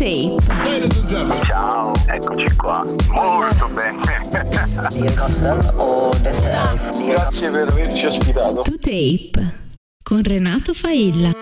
Tape. Ciao, eccoci qua. Molto bene. Grazie per averci ospitato. To Tape con Renato Failla.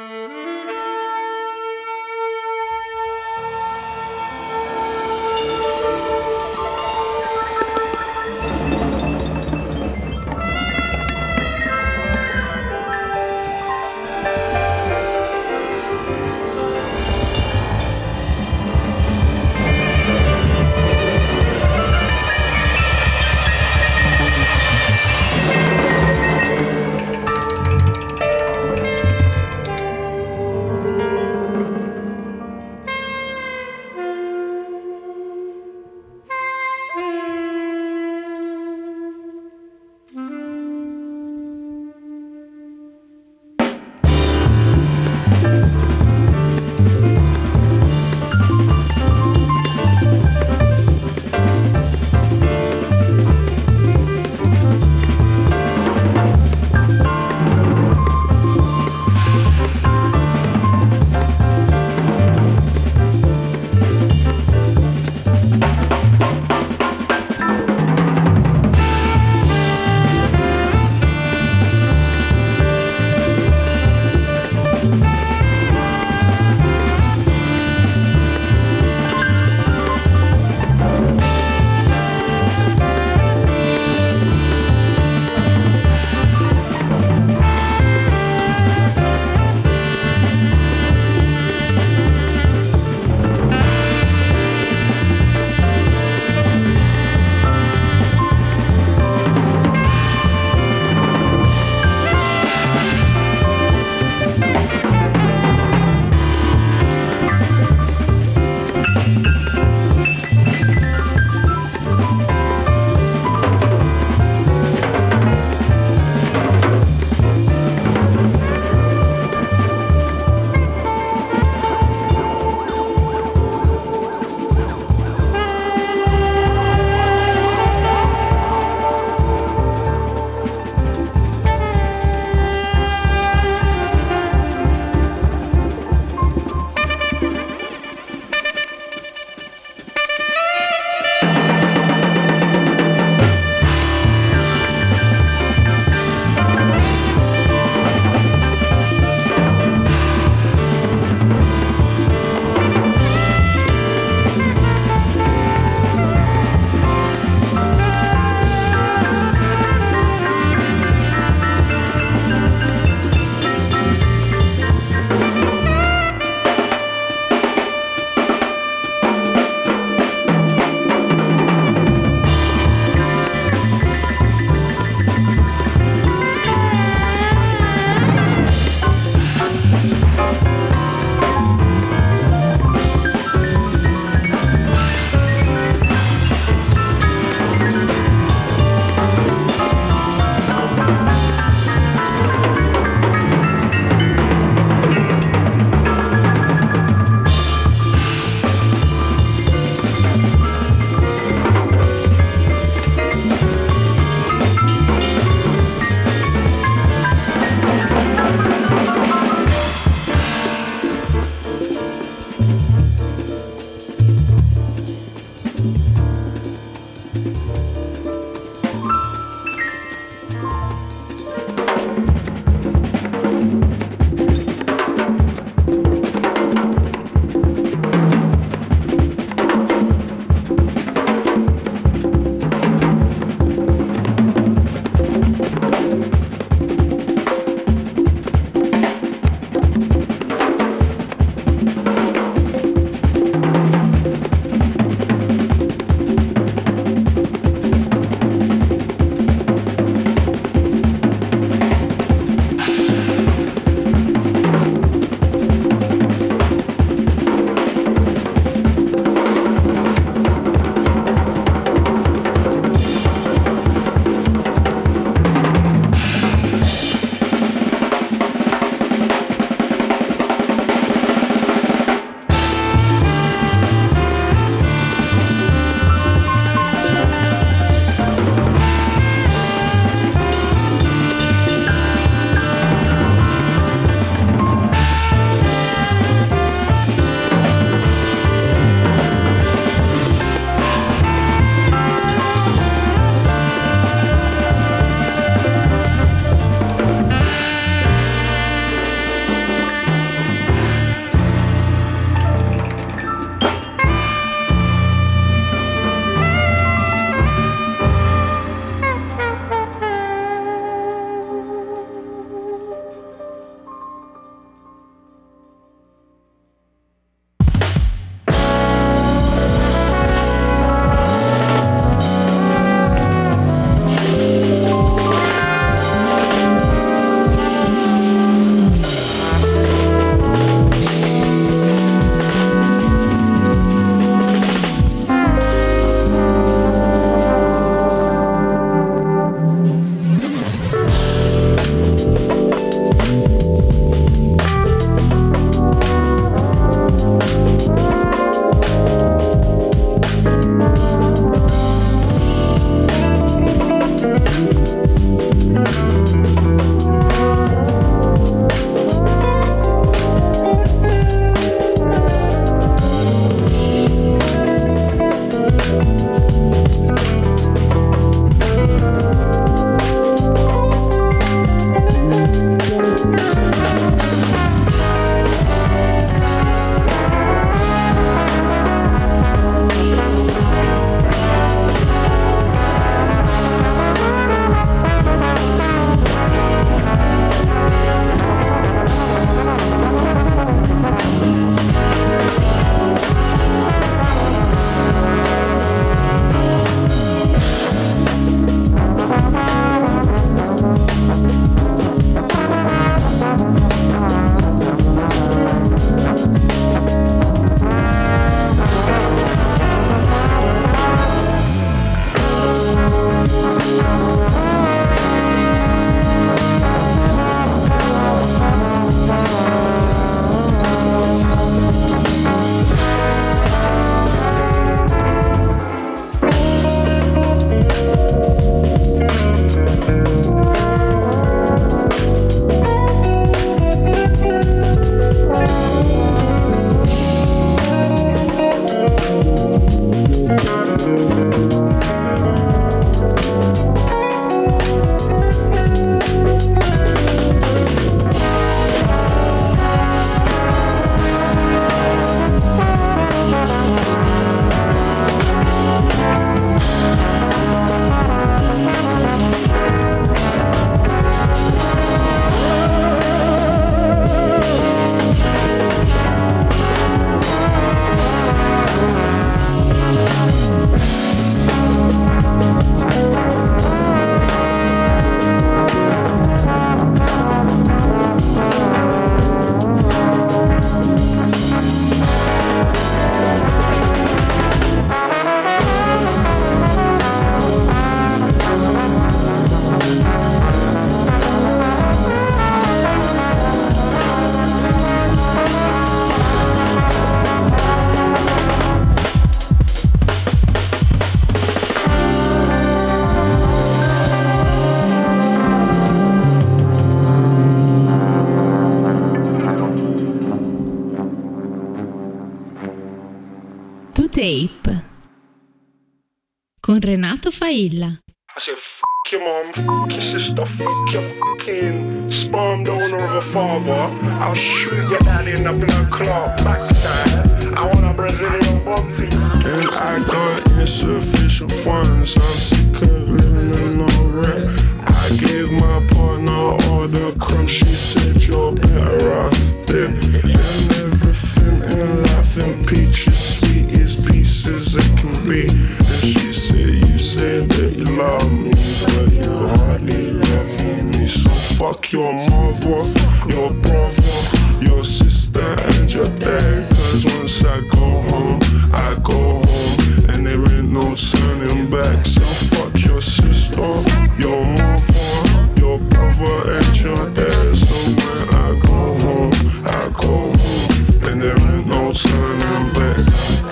Tape con Renato Failla. I said, fuck your mom, fuck your sister, fuck your fucking sperm donor of a father. I'll shoot your daddy in the blood clot backside. I want a Brazilian bum team. And I got insufficient funds. I'm sick of living in no rent. I gave my partner all the crumbs. She said you're better off dead. And everything in life in peaches, sweet as pieces it can be. And she said, you said that you love me, but you hardly love me. So fuck your mother, your brother, your sister and your dad. Cause once I go home, and there ain't no turning back. So fuck your sister, your mother, your brother and your dad. So when I go home, and there ain't no turning back.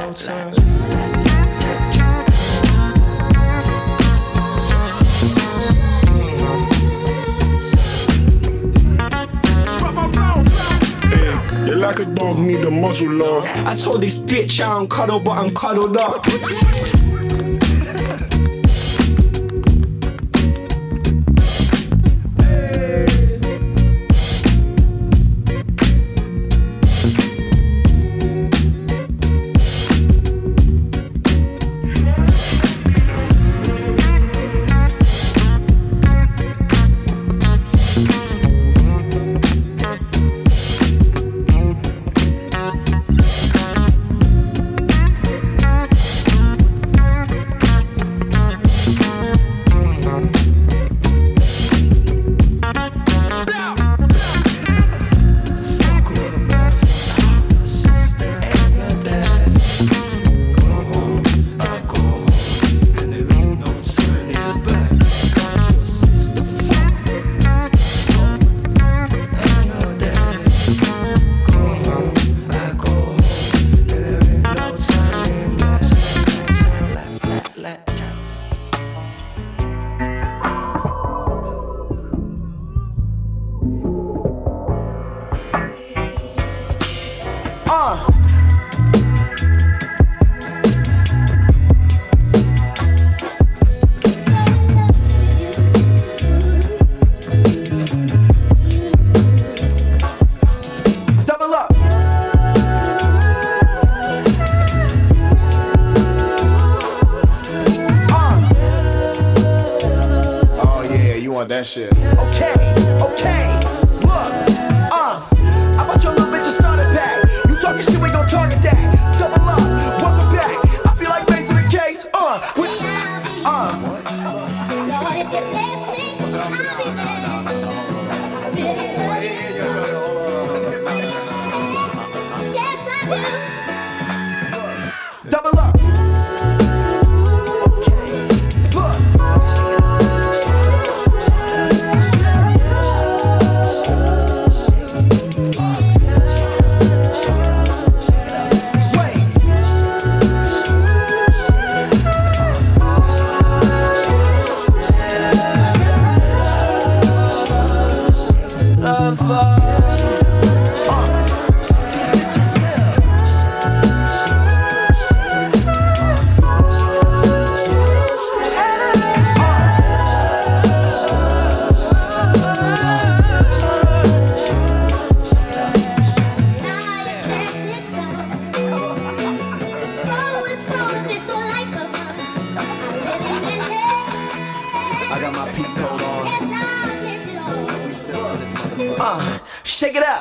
You're like a dog, need a muzzle, love. I told this bitch I don't cuddle, but I'm cuddled up. That shit. Okay, look, I want your little bitch to start it back. You talking shit, we gon' target that. Double up, welcome back. I feel like raising the case, Double up. Shake it up.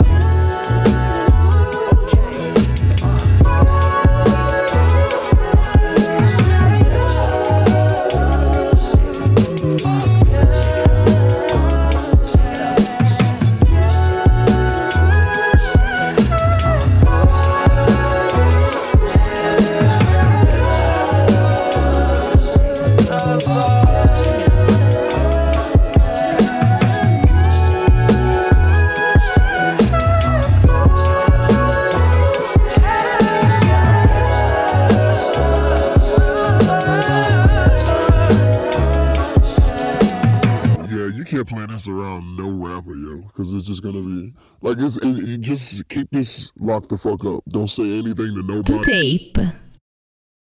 Can't play this around no rapper, yo, because it's just gonna be like just keep this locked the fuck up. Don't say anything to nobody. To Tape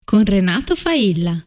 con Renato Failla.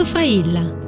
Failla.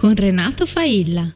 con Renato Failla.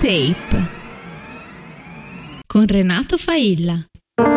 Tape con Renato Failla.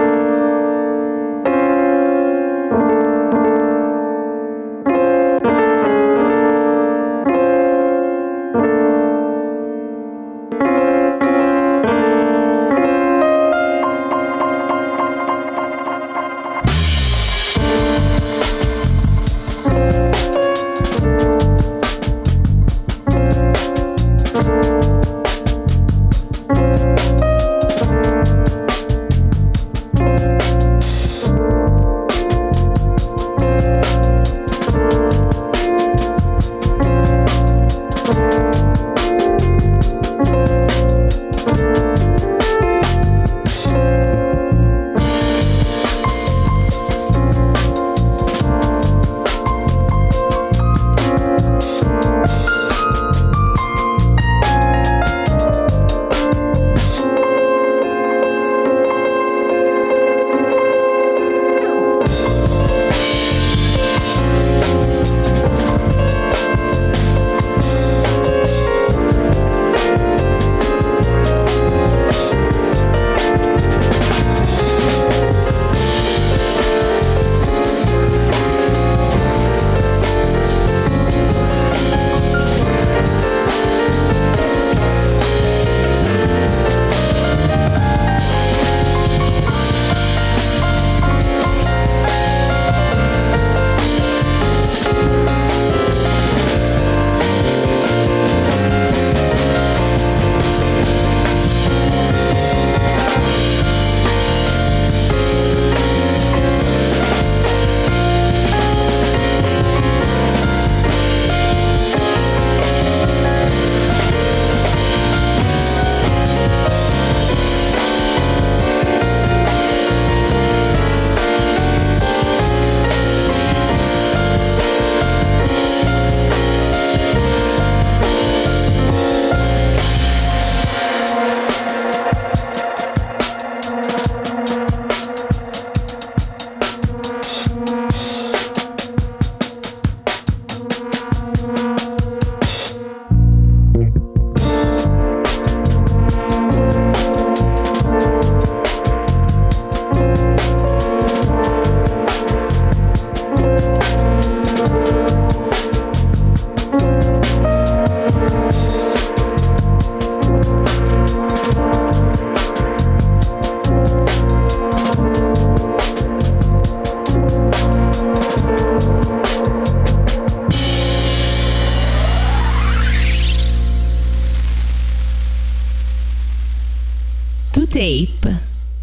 Tape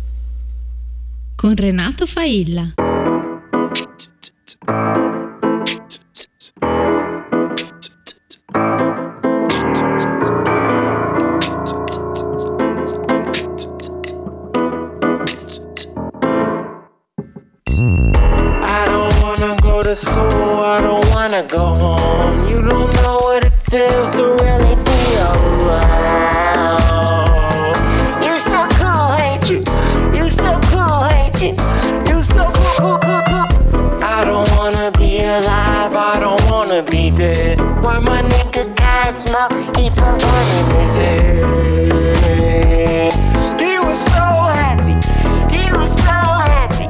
con Renato Failla. I don't wanna go to school, I don't wanna go home. You don't know what it feels to really be around. You so cool, ain't you? You so cool, ain't you? You so cool, cool, cool, cool. I don't wanna be alive, I don't wanna be dead. Why my nigga got smoke, he put one in his head. He was so happy, he was so happy.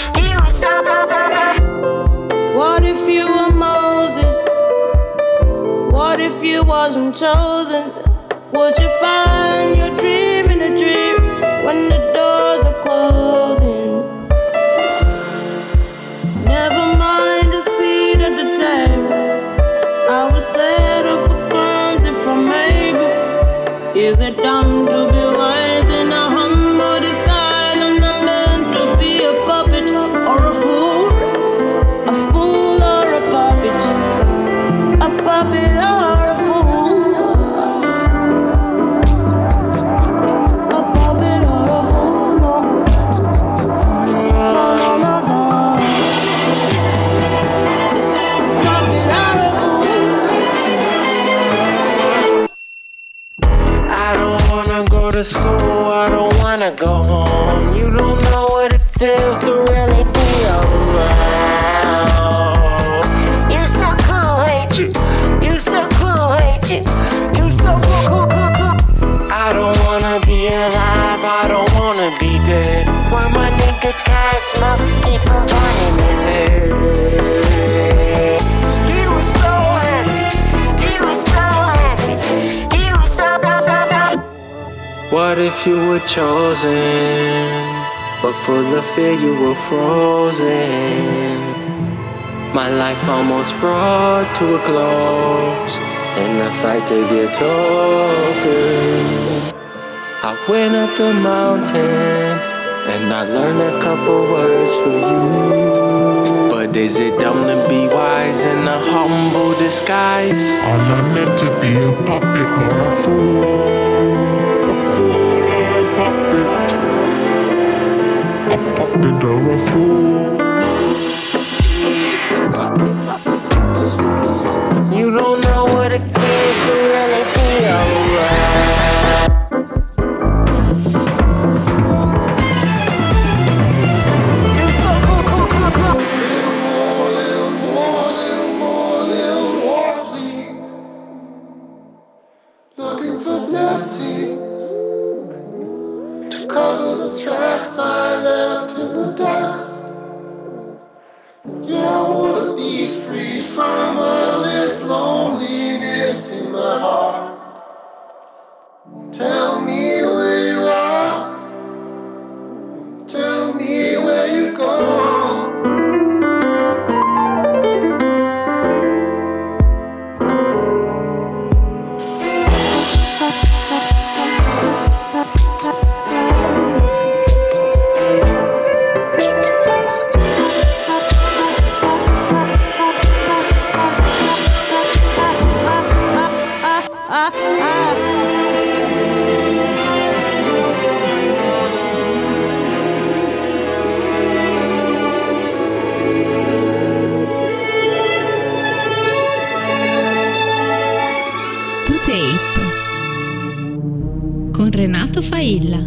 What if you were Moses? What if you wasn't chosen? Would you find your dream in a dream when the doors are closing? Never mind a seat at the table. I will settle for crumbs if I'm able. Is it dumb to be wise in a humble disguise? I'm not meant to be a puppet or a fool. A fool or a puppet or a fool. A puppet or a fool. No, no, no, no. Puppet or a fool. I don't wanna go to school, I don't wanna go home. You don't know what it feels to really be around. You so cool, ain't you? You so cool, ain't you? You so cool, cool, cool, cool. I people born in his head. He was so happy. He was so happy. He was so. What if you were chosen, but full of fear you were frozen? My life almost brought to a close in the fight to get over. I went up the mountain and I learned a couple words for you. But is it dumb to be wise in a humble disguise? I'm not meant to be a puppet or a fool. A fool or a puppet. A puppet or a fool. You don't know what it feels to really be alright. You're so cool, cool, cool, cool. Little more, please. Looking for blessings to cover the tracks I left in the dust. Yeah, I wanna be free from all this loneliness in my heart. Tell me where you are. Tell me where you've gone. Con Renato Failla.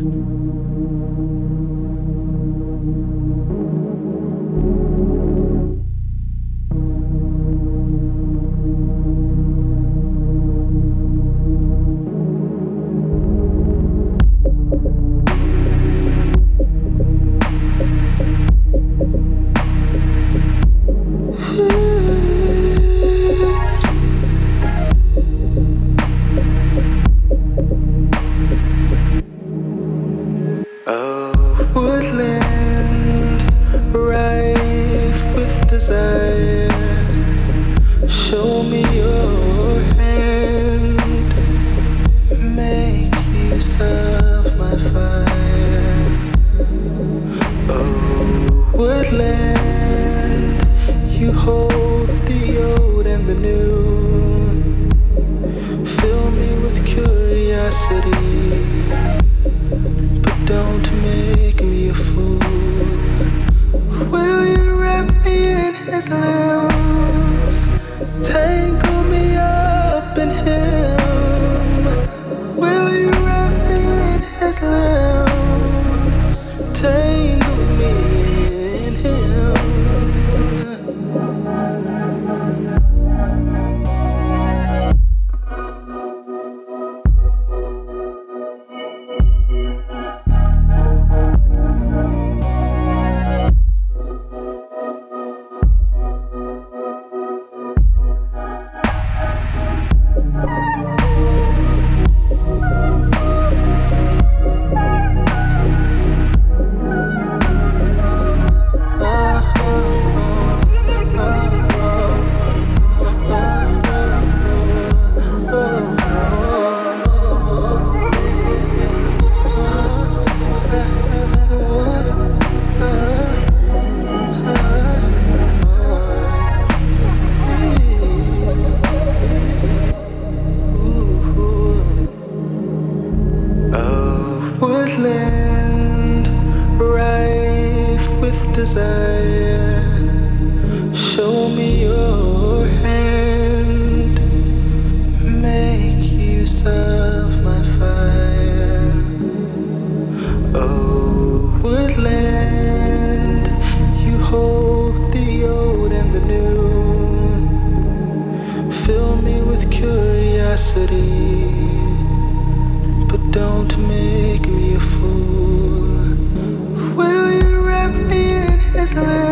Will you wrap me in his love?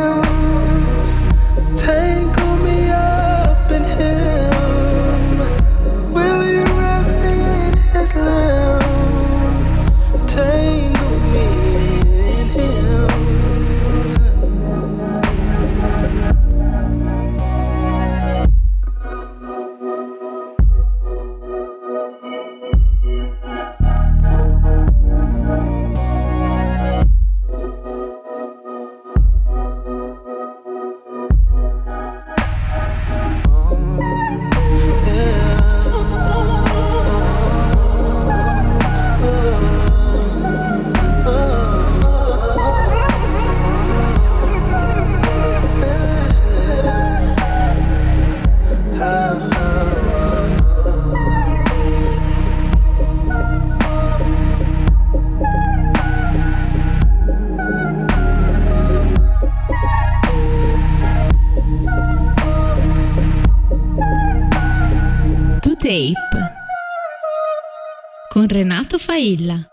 Tape con Renato Failla.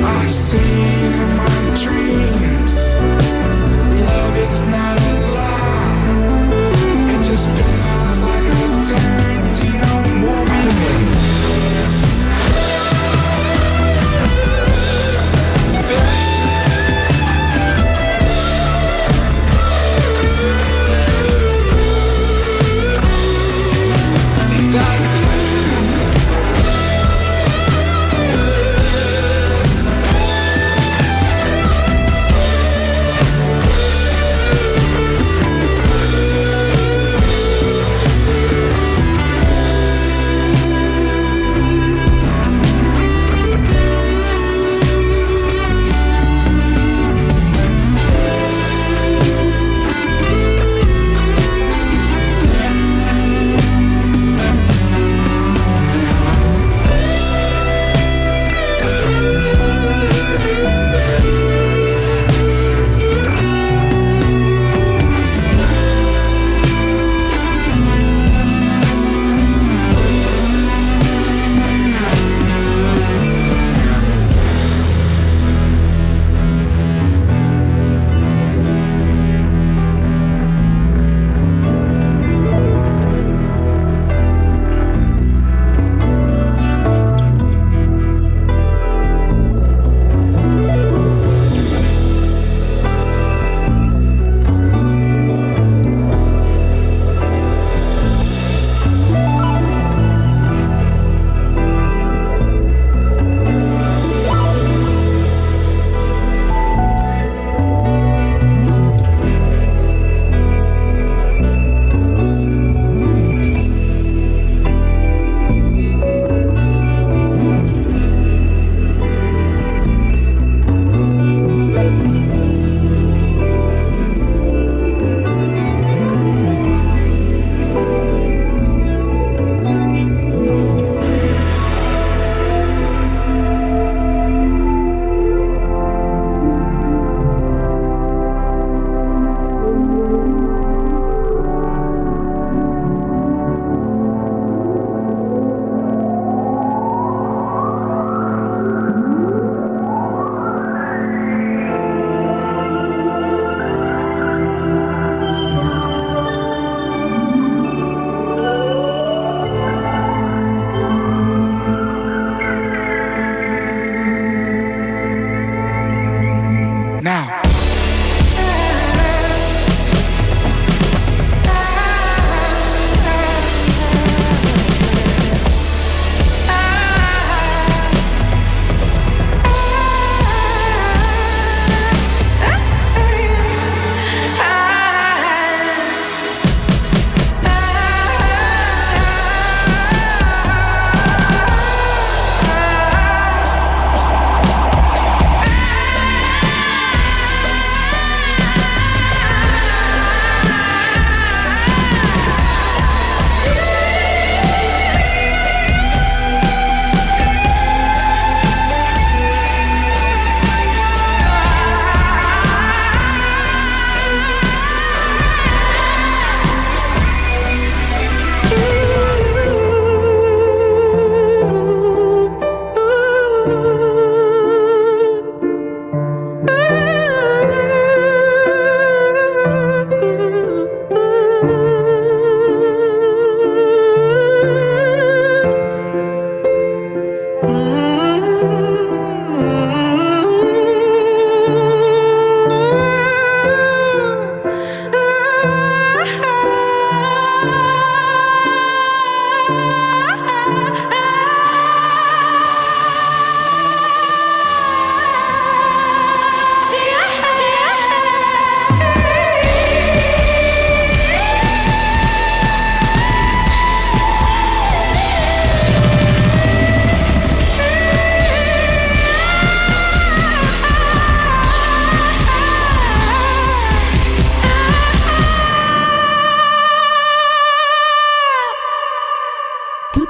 Seen in my dreams, love is not a lie.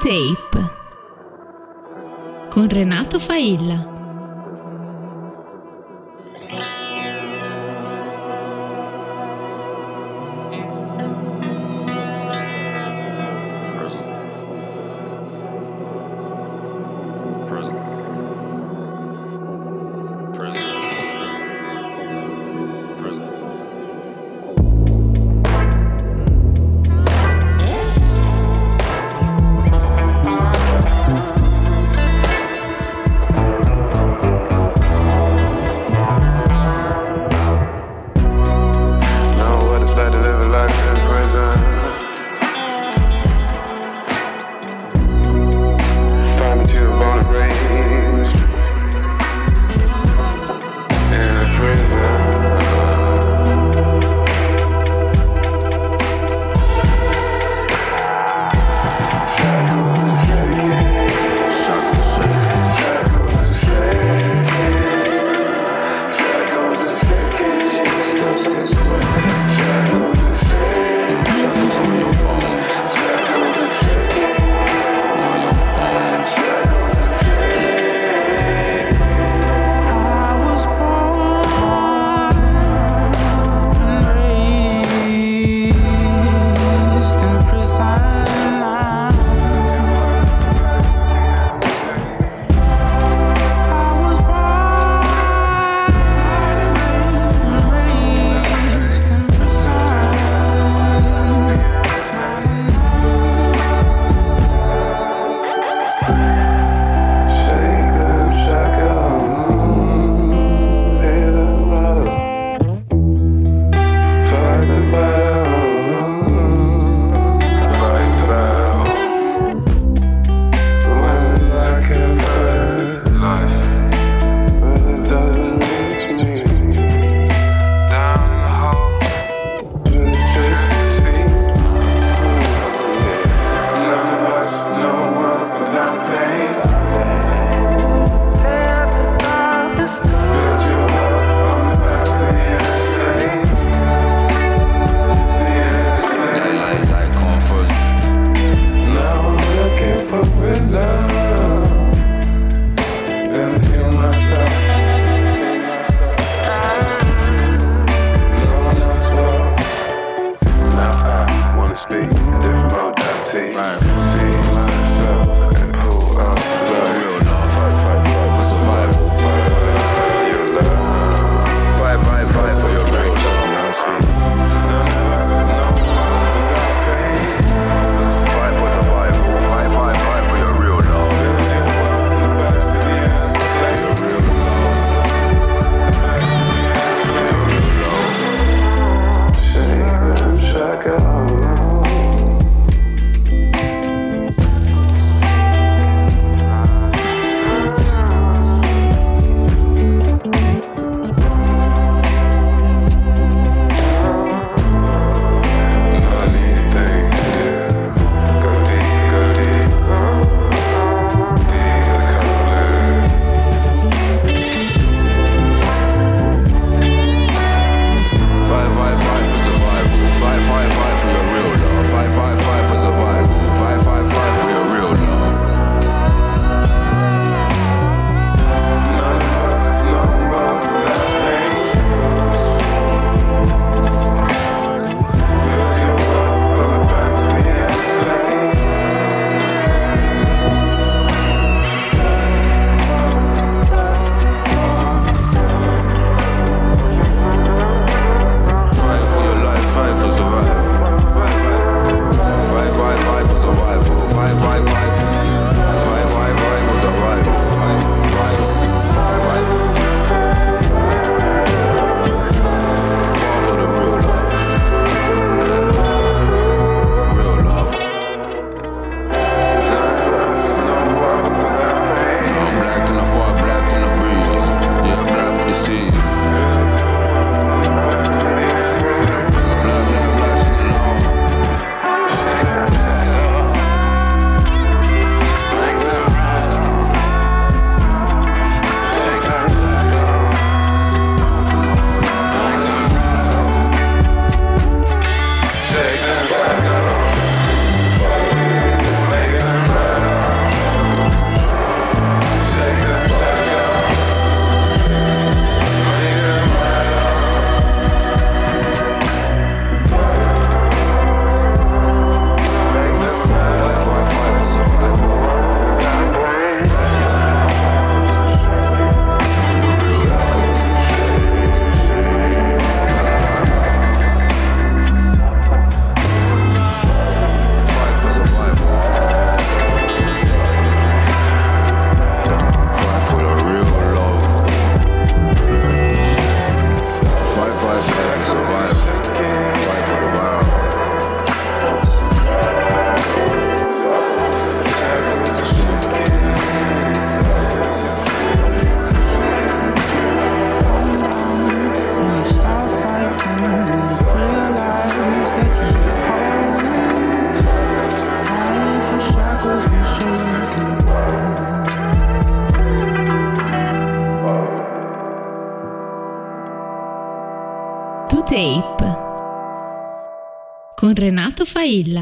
Tape con Renato Failla. con Renato Failla.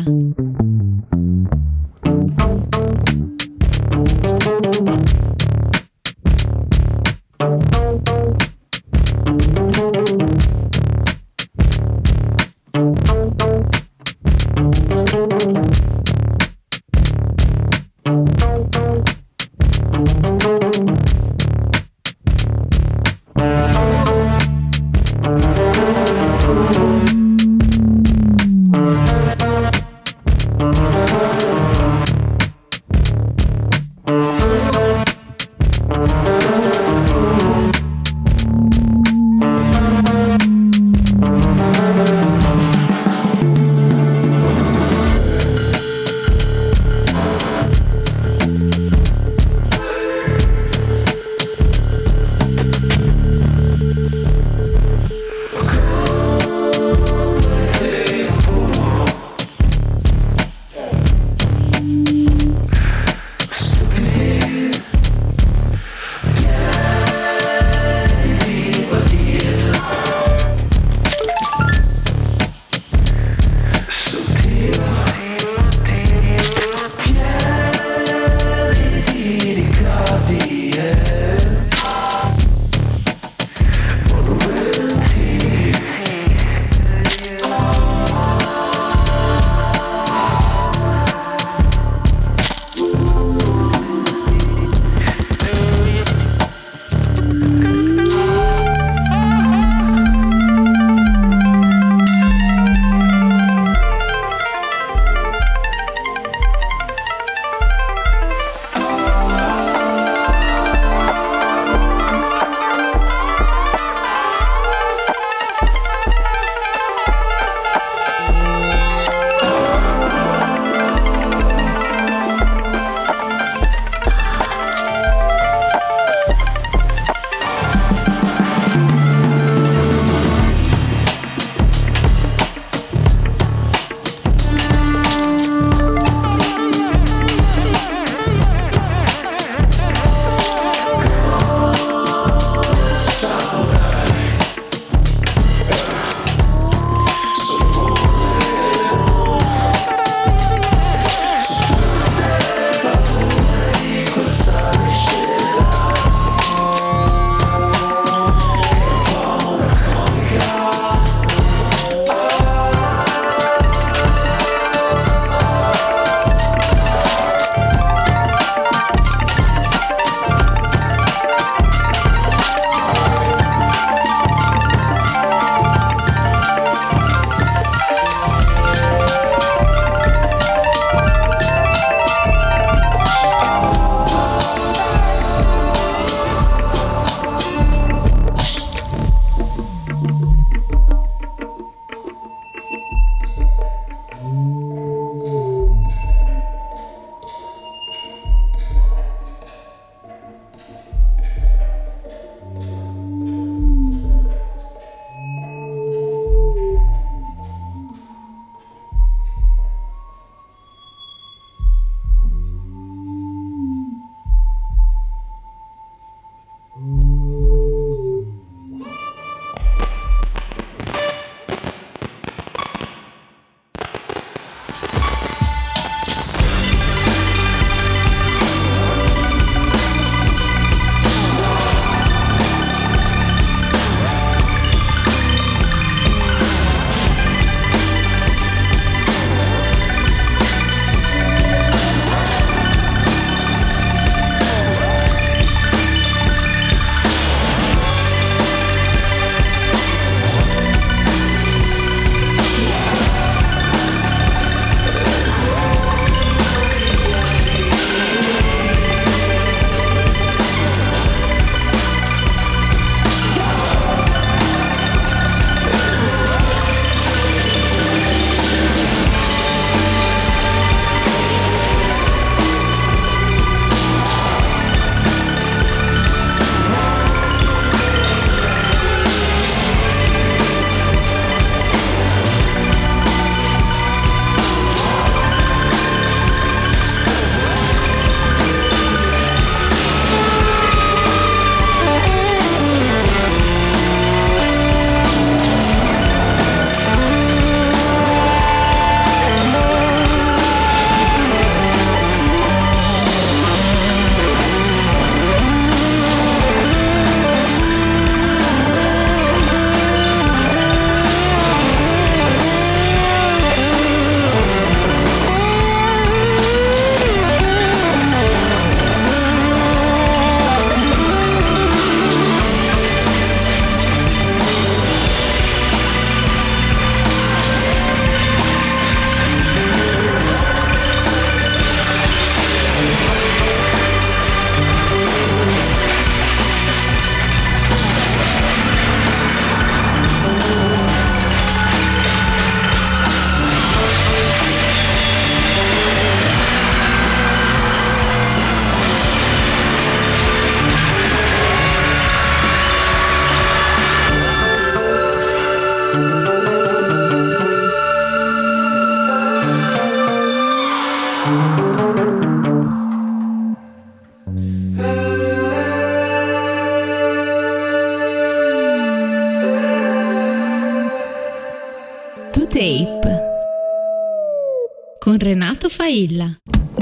Tape con Renato Failla.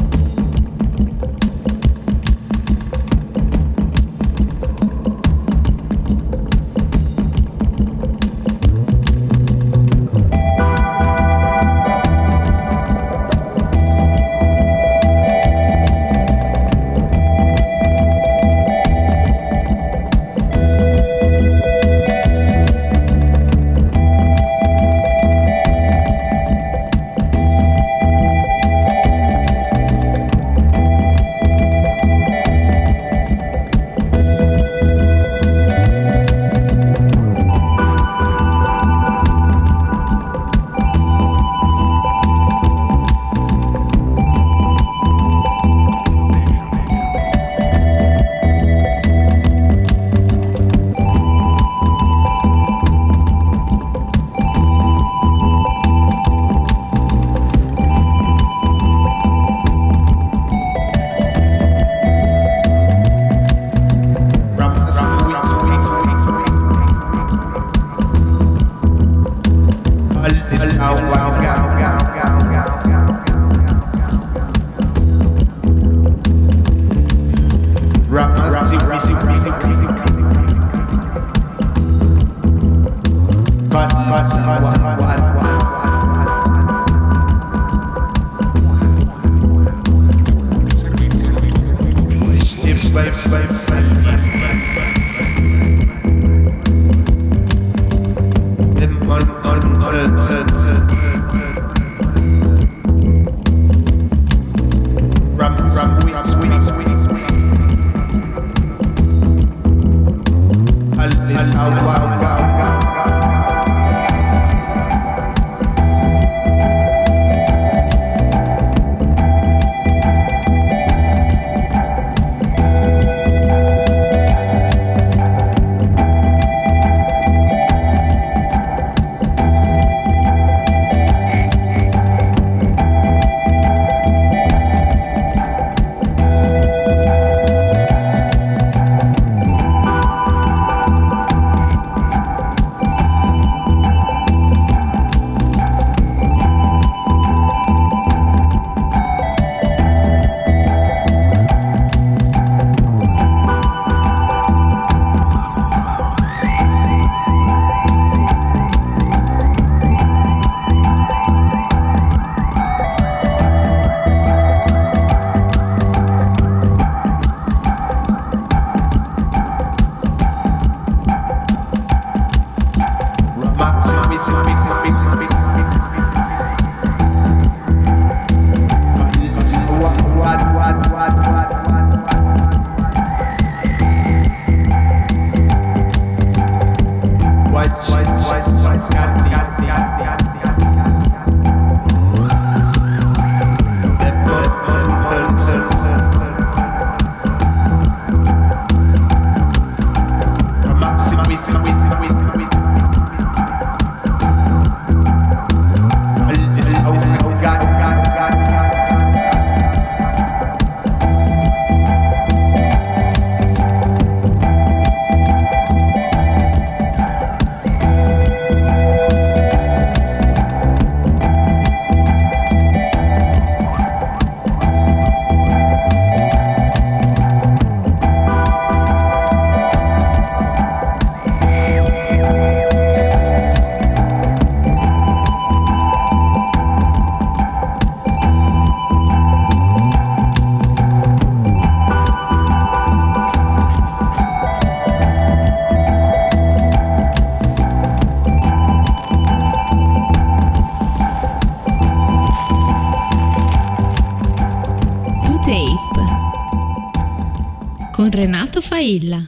Con Renato Failla.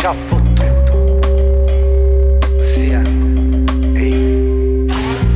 già fottuto. Ossia, ehi.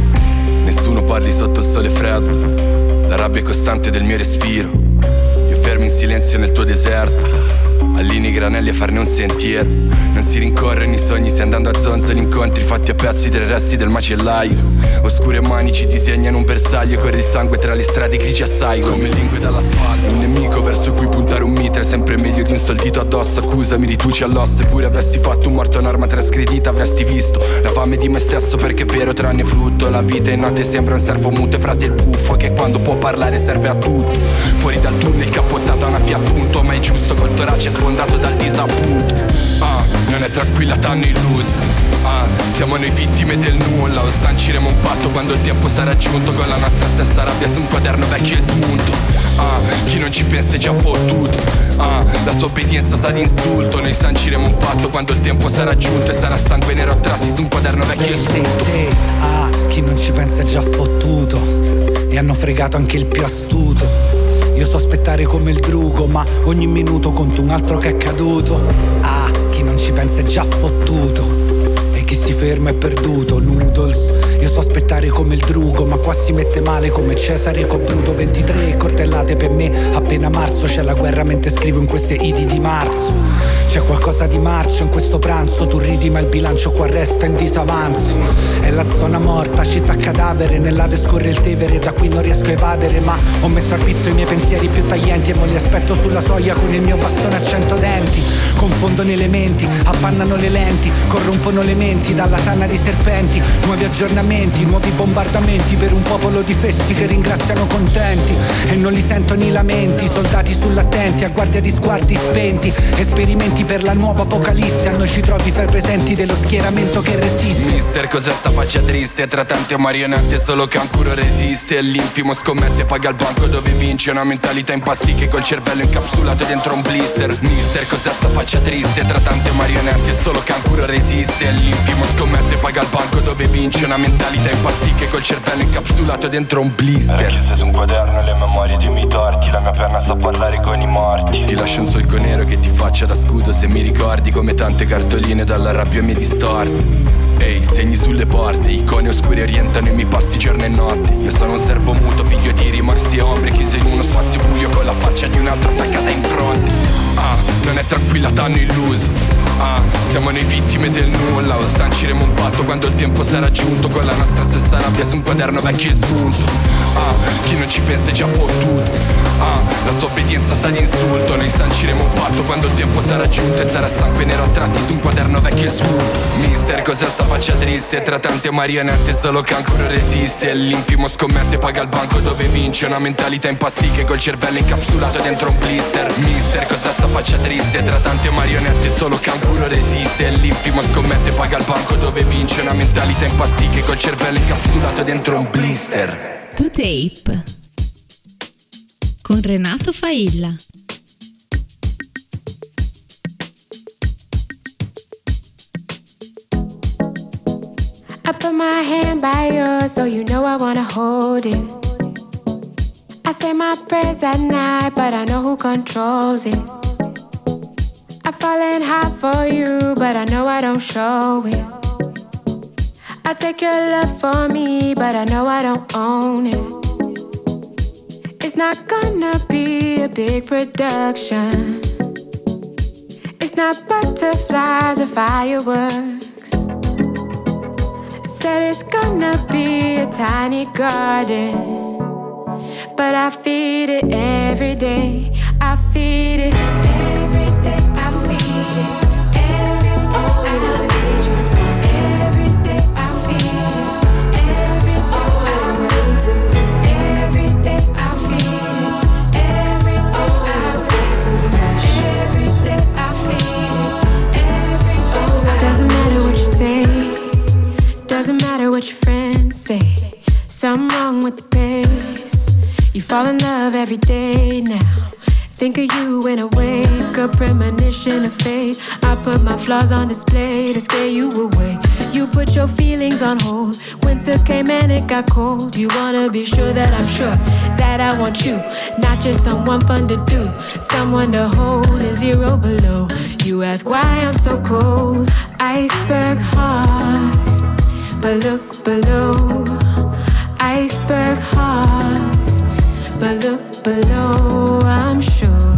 Nessuno parli sotto il sole freddo, la rabbia è costante del mio respiro. Io fermo in silenzio nel tuo deserto, allinei i granelli a farne un sentiero. Non si rincorrono i sogni, stai andando a zonzo, gli incontri fatti a pezzi tra i resti del macellaio. Oscure mani ci disegnano un bersaglio, corre il sangue tra le strade grigie assai, come lingue dall'asfalto. Un nemico verso cui puntare un mitra è sempre meglio di un soldito addosso. Accusami, rituci all'osso, eppure avessi fatto un morto un'arma trasgredita, avresti visto la fame di me stesso, perché è vero tranne frutto. La vita in notte sembra un servo muto e frate il buffo che quando può parlare serve a tutto. Fuori dal tunnel cappottata una Fiat Punto, ma è giusto col torace sfondato dal disappunto. Non è tranquilla, t'hanno illuso. Siamo noi vittime del nulla. O sanciremo un patto quando il tempo sarà giunto, con la nostra stessa rabbia su un quaderno vecchio e smunto. Chi non ci pensa è già fottuto. La sua obbedienza sa di insulto. Noi sanciremo un patto quando il tempo sarà giunto, e sarà sangue nero a tratti su un quaderno vecchio e smunto. Chi non ci pensa è già fottuto. E hanno fregato anche il più astuto. Io so aspettare come il drugo, ma ogni minuto conto un altro che è caduto. Chi non ci pensa è già fottuto, e chi si ferma è perduto. Noodles. Io so aspettare come il drugo, ma qua si mette male come Cesare con Bruto. 23 cortellate per me, appena marzo. C'è la guerra mentre scrivo in queste idi di marzo. C'è qualcosa di marcio in questo pranzo. Tu ridi ma il bilancio qua resta in disavanzo. È la zona morta, città cadavere. Nell'Ade scorre il Tevere, da qui non riesco a evadere. Ma ho messo al pizzo i miei pensieri più taglienti, e mo li aspetto sulla soglia con il mio bastone a 100 denti. Confondono elementi, appannano le lenti, corrompono le menti dalla tana di serpenti. Nuovi aggiornamenti, nuovi bombardamenti per un popolo di fessi che ringraziano contenti. E non li sentono i lamenti, soldati sull'attenti a guardia di sguardi spenti. Esperimenti per la nuova apocalisse, a noi ci trovi fra presenti dello schieramento che resiste. Mister, cos'è sta faccia triste? Tra tante marionette solo Cancuro resiste. E l'infimo scommette, paga il banco dove vince. Una mentalità in pasticche col cervello incapsulato dentro un blister. Mister, cos'è sta faccia triste? Tra tante marionette solo Cancuro resiste. E l'infimo scommette, paga il banco dove vince. Una mentalità in pasticche col cervello incapsulato dentro un blister. Chiuse su un quaderno le memorie dei miei torti. La mia penna sa parlare con i morti. Ti lascio un solco nero che ti faccia da scudo, se mi ricordi, come tante cartoline dalla rabbia mi distorti. Ehi, segni sulle porte, icone oscure orientano i miei passi giorno e notte. Io sono un servo muto, figlio di rimorsi e ombre, chiuso in uno spazio buio con la faccia di un altro attaccata in fronte. Non è tranquilla, t'hanno illuso. Siamo noi vittime del nulla. O sanciremo un patto quando il tempo sarà giunto, con la nostra stessa rabbia su un quaderno vecchio e smunto. Chi non ci pensa è già fottuto. La sua obbedienza sa di insulto. Noi sanciremo un patto quando il tempo sarà giunto, e sarà sangue nero a tratti su un quaderno vecchio e smunto. Mister, cos'è sta faccia triste? Tra tante marionette solo Cancuro resiste. E l'infimo scommette, paga il banco dove vince. Una mentalità in pasticche col cervello incapsulato dentro un blister. Mister, cos'è sta faccia triste? Tra tante marionette solo Cancuro resiste. E l'infimo scommette, paga il banco dove vince. Una mentalità in pasticche col cervello incapsulato dentro un blister. To Tape con Renato Failla. I put my hand by yours, so you know I wanna hold it. I say my prayers at night, but I know who controls it. I've fallen hard for you, but I know I don't show it. I take your love for me, but I know I don't own it. It's not gonna be a big production. It's not butterflies or fireworks. Said it's gonna be a tiny garden, but I feed it every day. I feed it every day. I feed it every day. Oh, I need you every day. I feed it every day. Oh, I need to every day. I feed it every day. Oh, I'm scared to rush every day. I feed it every day. Oh, doesn't matter what you say. Doesn't matter what your friends say. Something wrong with the pace. You fall in love every day now. Think of you when I wake up, premonition of fate. I put my flaws on display to scare you away. You put your feelings on hold. Winter came and it got cold. You wanna be sure that I'm sure that I want you, not just someone fun to do, someone to hold in zero below. You ask why I'm so cold. Iceberg heart, but look below. Iceberg heart, but look below. I'm sure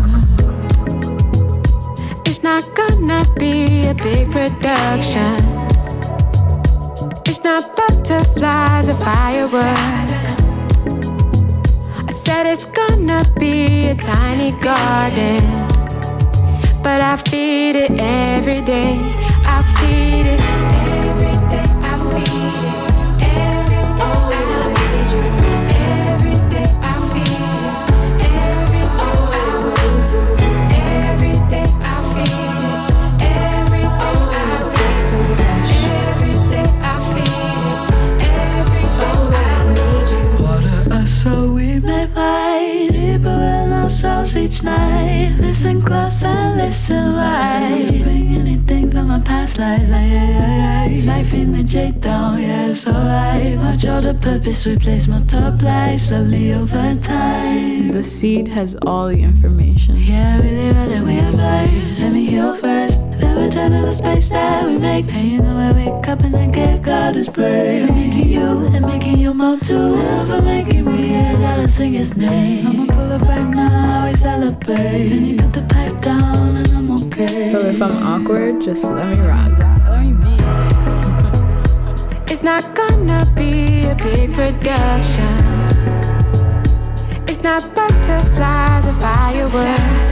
it's not gonna be a big production. It's not butterflies or fireworks. I said it's gonna be a tiny garden, but I feed it every day. I feed it every day. I feed it every day. Oh, I need you every day. I feed it every day. Oh, I want to every day. I feed it every day. Oh, I'm scared to rush every day. I feed it every day. Oh, I need you. Water us so we may fight deeper in ourselves each night. Listen close and listen right. Bring anything from my past life, life in the J down, yeah, it's alright. Watch all the purpose we place multiply slowly over time. The seed has all the information. Yeah, really rather we advise. Let me heal first, then return to the space that we make. And you know I wake up and I give God his praise. For making you and making you move too. And for making me, I gotta sing his name. I'ma pull up right now, we celebrate. Then you put the pipe down and I'm okay. So if I'm awkward, just let me rock. Let me be. It's not gonna be a big production. It's not butterflies or fireworks.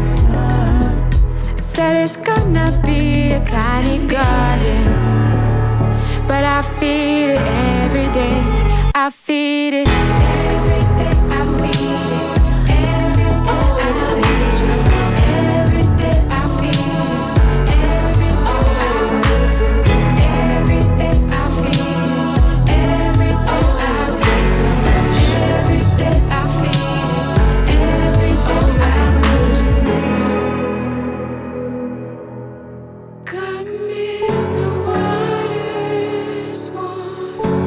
Said it's gonna be a tiny garden, but I feed it every day. I feed it every day. I feed it every day. Oh, I need you every day. I feed it every day. Oh, I want to every day. I feed it every day. Oh, I'm scared to rush every day. I feed it every day. Oh, I need you. Got me in the water's warm.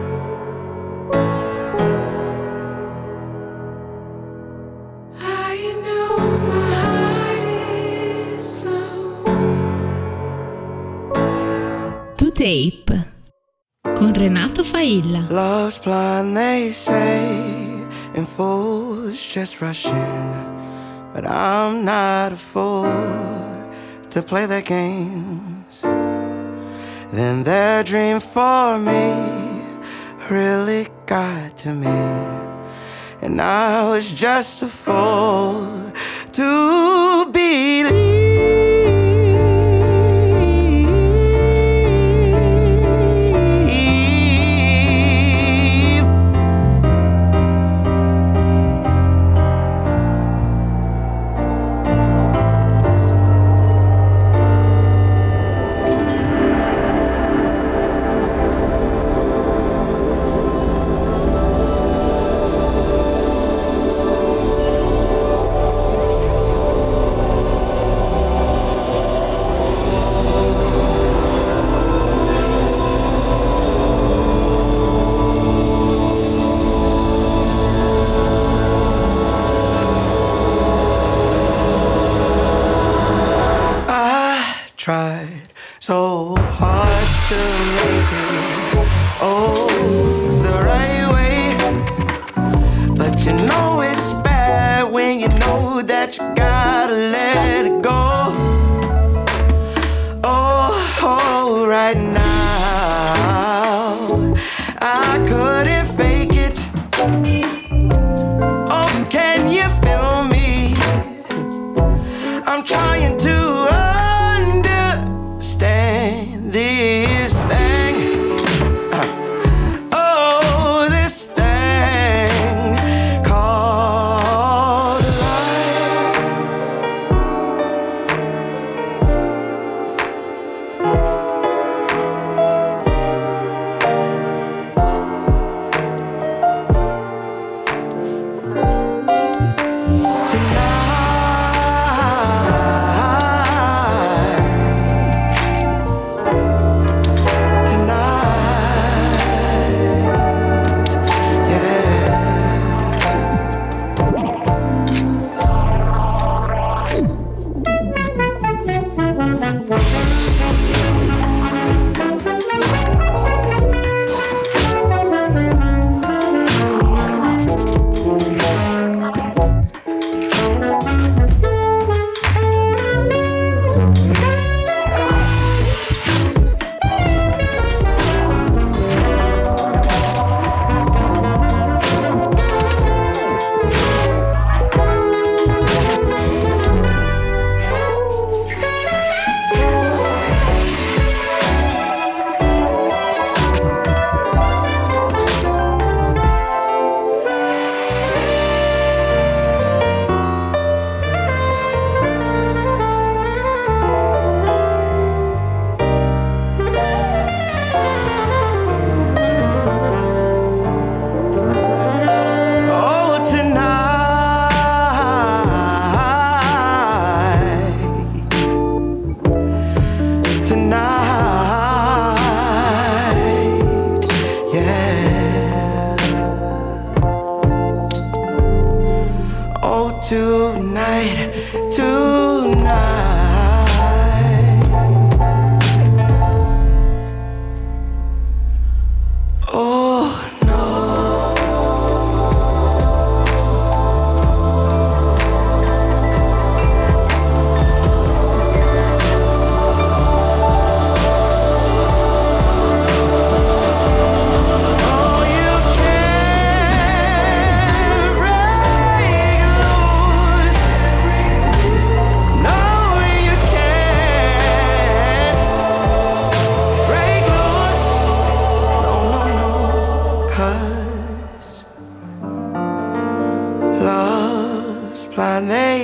I know my heart is slow. To Tape con Renato Failla. Love's blind, they say, and fools just rush in. But I'm not a fool to play their games. Then their dream for me really got to me, and I was just a fool to believe.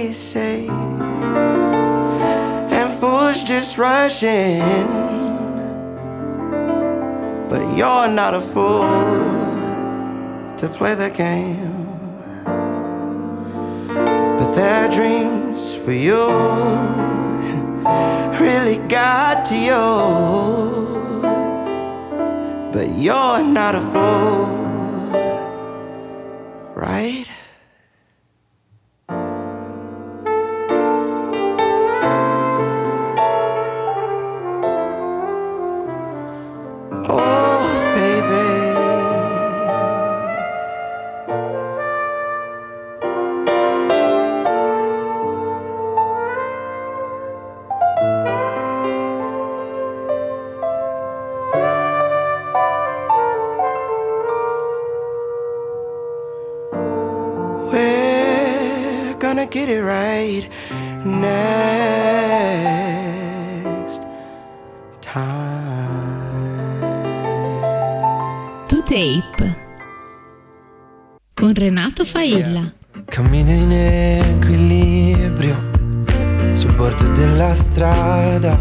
they say, and fools just rush in. But you're not a fool to play the game. But their dreams for you really got to you. But you're not a fool, right? Get it right next time. To Tape con Renato Failla. Cammino in equilibrio sul bordo della strada.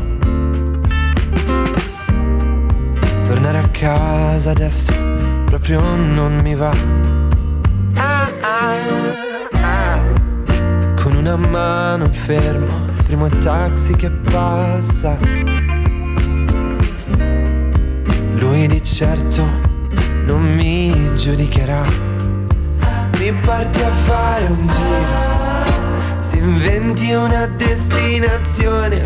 Tornare a casa adesso proprio non mi va. Con una mano fermo, primo taxi che passa. Lui di certo non mi giudicherà. Mi parti a fare un giro, si inventi una destinazione.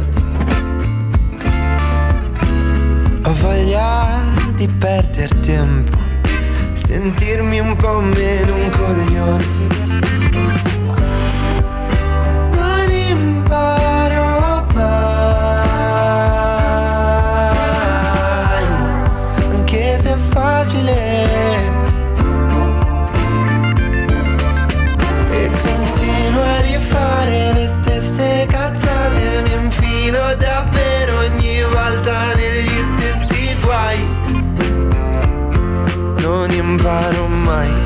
Ho voglia di perder tempo, sentirmi un po' meno un coglione. Imparo mai, anche se è facile, e continuo a rifare le stesse cazzate. Mi infilo davvero ogni volta negli stessi guai. Non imparo mai.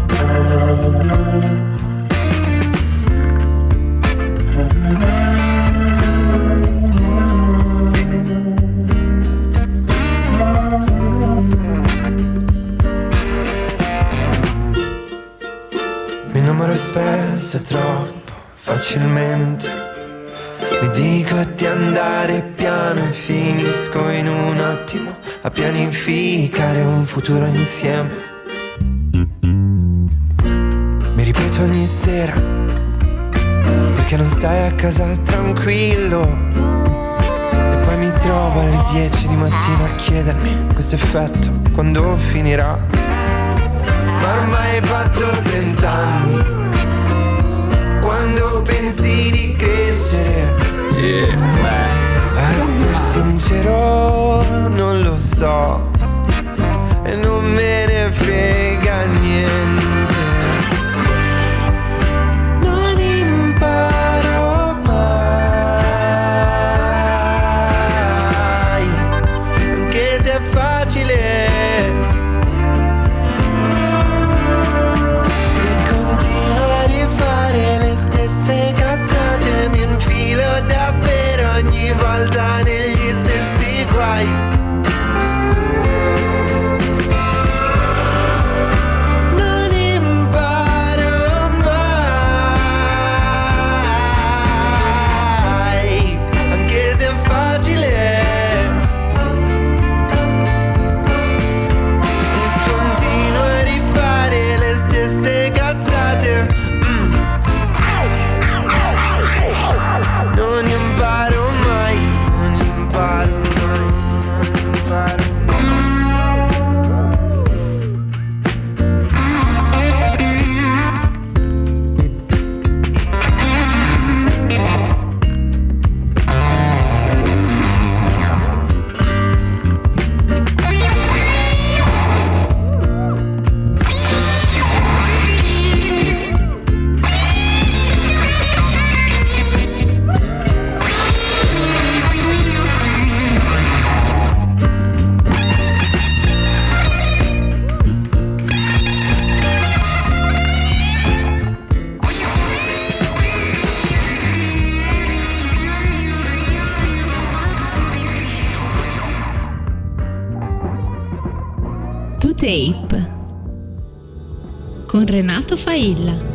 Mi innamoro spesso troppo facilmente. Mi dico di andare piano e finisco in un attimo a pianificare un futuro insieme. Mi ripeto ogni sera, perché non stai a casa tranquillo? E poi mi trovo alle 10 di mattina a chiedermi questo effetto quando finirà. Ma ormai hai fatto 30 anni, quando pensi di crescere? A essere sincero non lo so, e non me ne frega niente. Non imparo mai, anche se è facile. E continuo a rifare le stesse cazzate. Mi infilo davvero ogni volta negli stessi guai. Tape con Renato Failla.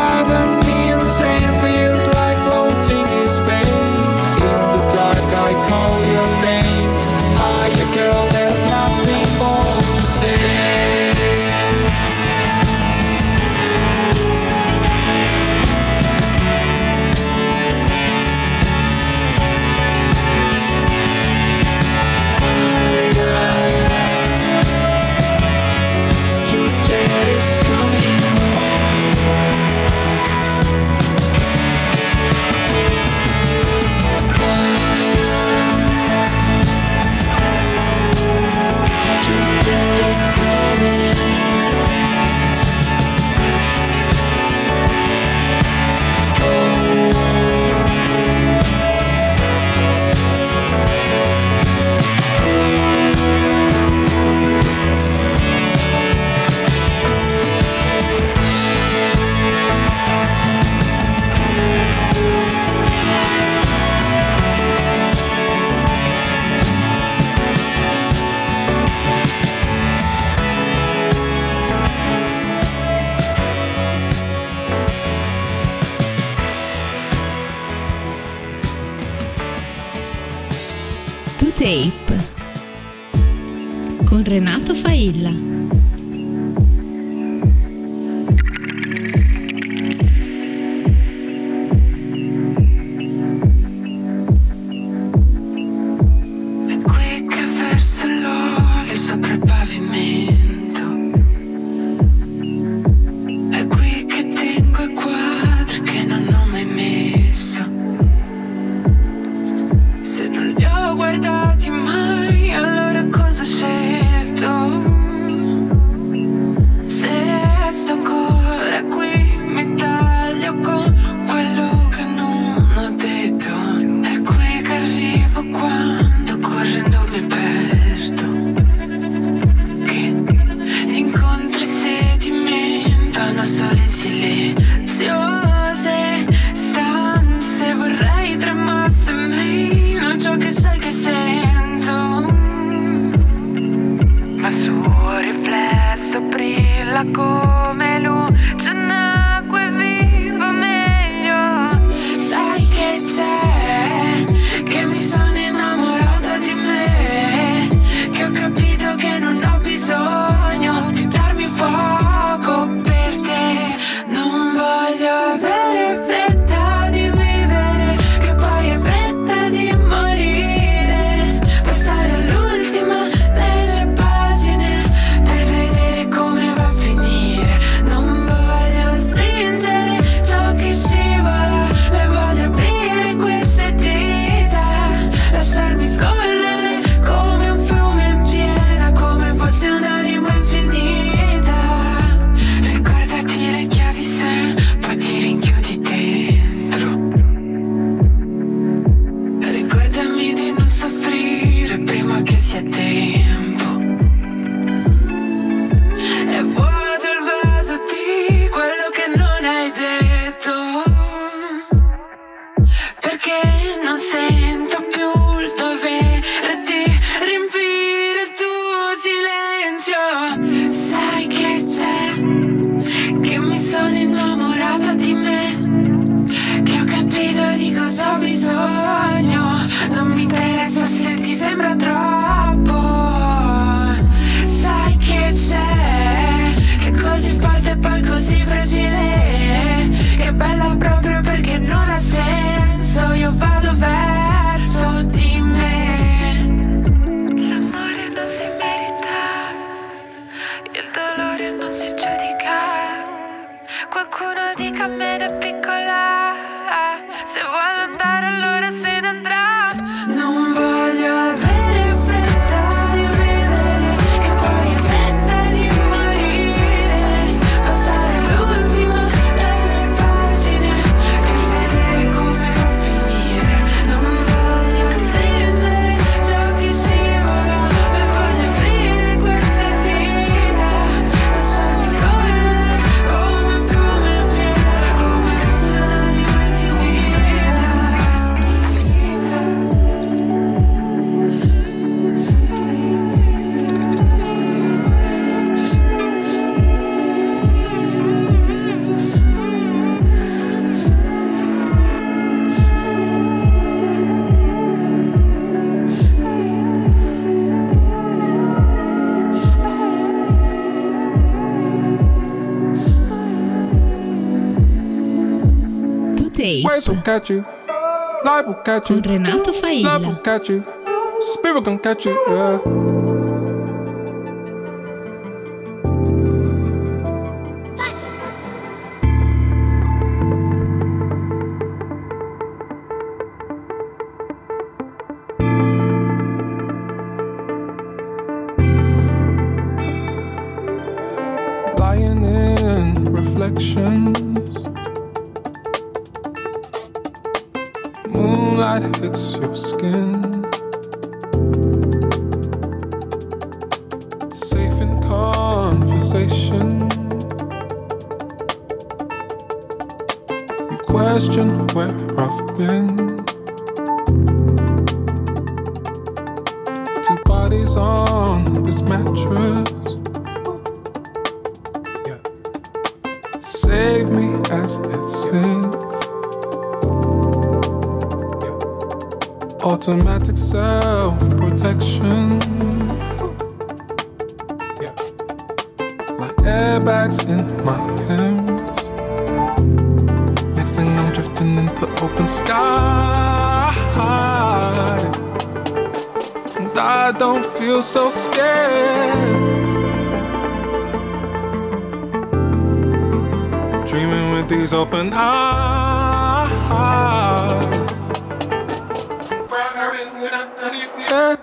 I Tape con Renato Failla. Sopra il pavimento, è qui che tengo i quadri che non ho mai messo. Se non li ho guardati mai, allora cosa ho scelto? Se resto ancora qui, mi taglio con quello che non ho detto. È qui che arrivo quando correndo mi perdo. Sole silenziose stanze, vorrei tremasse meno ciò che sai che sento, ma il suo riflesso brilla come luce in acqua e vivo meglio. Sai che c'è, che mi sono innamorata di me, che ho capito che non ho bisogno di darmi fuoco. Non voglio avere fretta di vivere, che poi è fretta di morire. Passare all'ultima delle pagine per vedere come va a finire. Non voglio stringere ciò che scivola, le voglio aprire queste dita, lasciarmi scorrere come un fiume in piena, come fosse un'anima infinita. Ricordati le chiavi se poi ti rinchiudi dentro. Ricordami di non soffrire prima che sia tempo. È vuoto il vaso di quello che non hai detto, perché non sento più il dovere di riempire il tuo silenzio. Sai che c'è, che mi sono innamorata di me, che ho capito di cosa ho bisogno. Non mi interessa se ti sembra troppo. Sai che c'è, che è così forte e poi così fragile, che è bella proprio perché non ha senso. Io vado verso di me. L'amore non si merita, il dolore non si giudica. Qualcuno dica a me da piccola, se vuole andare allora se ne andrà. Non voglio avere fretta di vivere, che poi è fretta di morire. Passare l'ultima delle pagine per vedere come va a finire. Non voglio stringere ciò che scivola, le voglio aprire queste dita, lasciarmi scorrere come un fiume in piena, come fosse un'anima infinita. To Tape Waves will catch you, life will catch you, con Renato love Failla. will catch you, spirit gon' catch you, yeah. Lying in reflections, moonlight hits your skin, safe in conversation. You question where I've been. Two bodies on this mattress. Save me as it sings. automatic self-protection. Yeah. Like airbags in my limbs. Next thing I'm drifting into open sky, and I don't feel so scared. Dreaming with these open eyes. Yeah.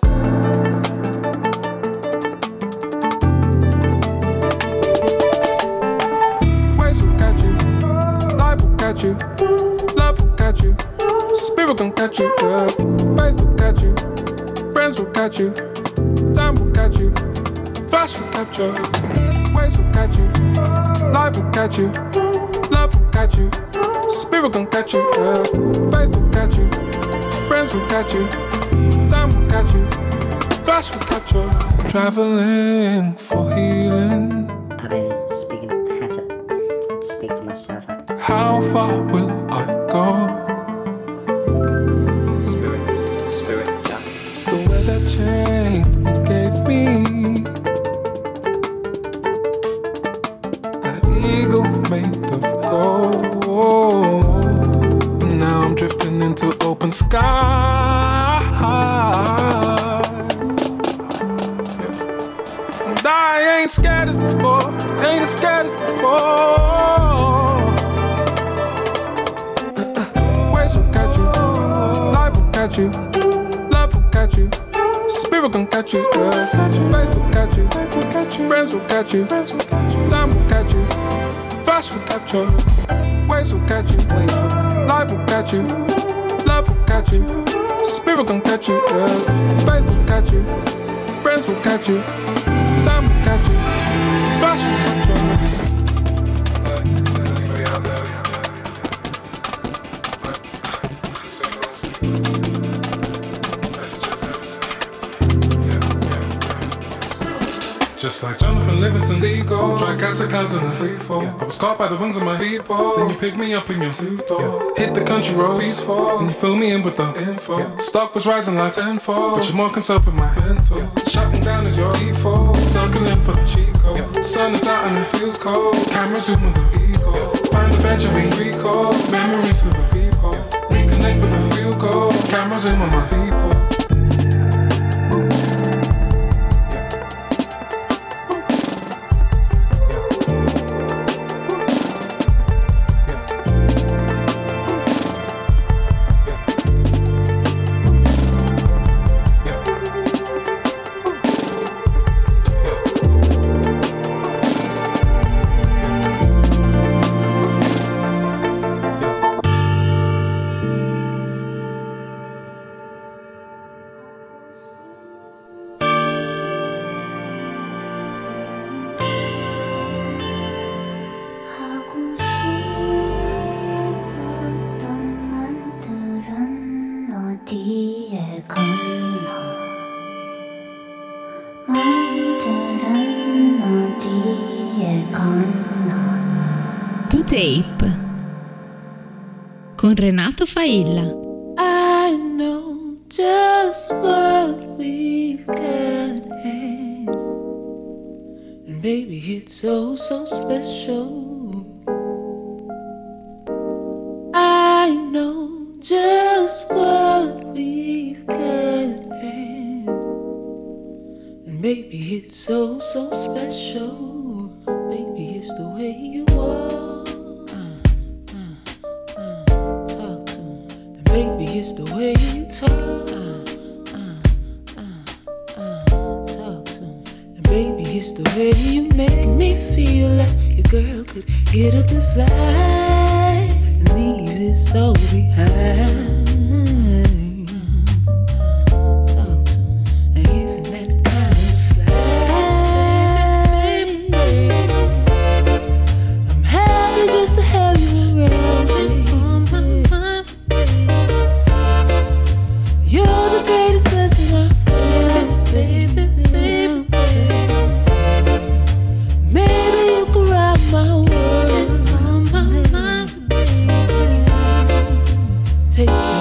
Waves will catch you, life will catch you, love will catch you, spirit gon' catch you, yeah. Faith will catch you, friends will catch you, time will catch you, flash will catch you. Waves will catch you, life will catch you, love will catch you, spirit gon' catch you, yeah. Faith will catch you, friends will catch you, time will catch you, flash will catch you. Traveling for healing. I've been speaking, I had to speak to myself. How far will I go? Spirit, yeah. Still wear that chain you gave me. Eagle made of gold. Now I'm drifting into open skies, yeah. And I ain't scared as before, ain't as scared as before. Waves will catch you, life will catch you, love will catch you, spirit gon' catch you, yeah. Faith will catch you, friends will catch you, time will catch you, flash will catch you, waves will catch you, life will catch you, love will catch you, spirit gon' catch you, yeah. Faith will catch you, friends will catch you, time will catch you, flash will catch you. Just like Jonathan Livingston, Seagull, try catch a clouds in a free fall. I was caught by the wings of my people. Then you picked me up in your two-door. Hit the country roads, peaceful, and you fill me in with the info. Stock was rising like tenfold, but you're more concerned with my mental. Shutting down is your default, circling for the cheat code. Sun is out and it feels cold. Camera zooming the ego. Find the bench and we recall memories of the people. Reconnect with the real goal. Camera zoom on my people. Tape con Renato Failla. I know just what we've got, and baby it's so special. I know just what we've got, and baby it's so special. Baby it's the way you are. Baby, it's the way you talk. Talk to me. And baby, it's the way you make me feel like your girl could get up and fly and leave this all behind. Talk to me. And isn't that kind of fly? I'm happy just to have you around, baby. You're the greatest blessing I've had, baby, baby, baby. Maybe you could rock my world. Take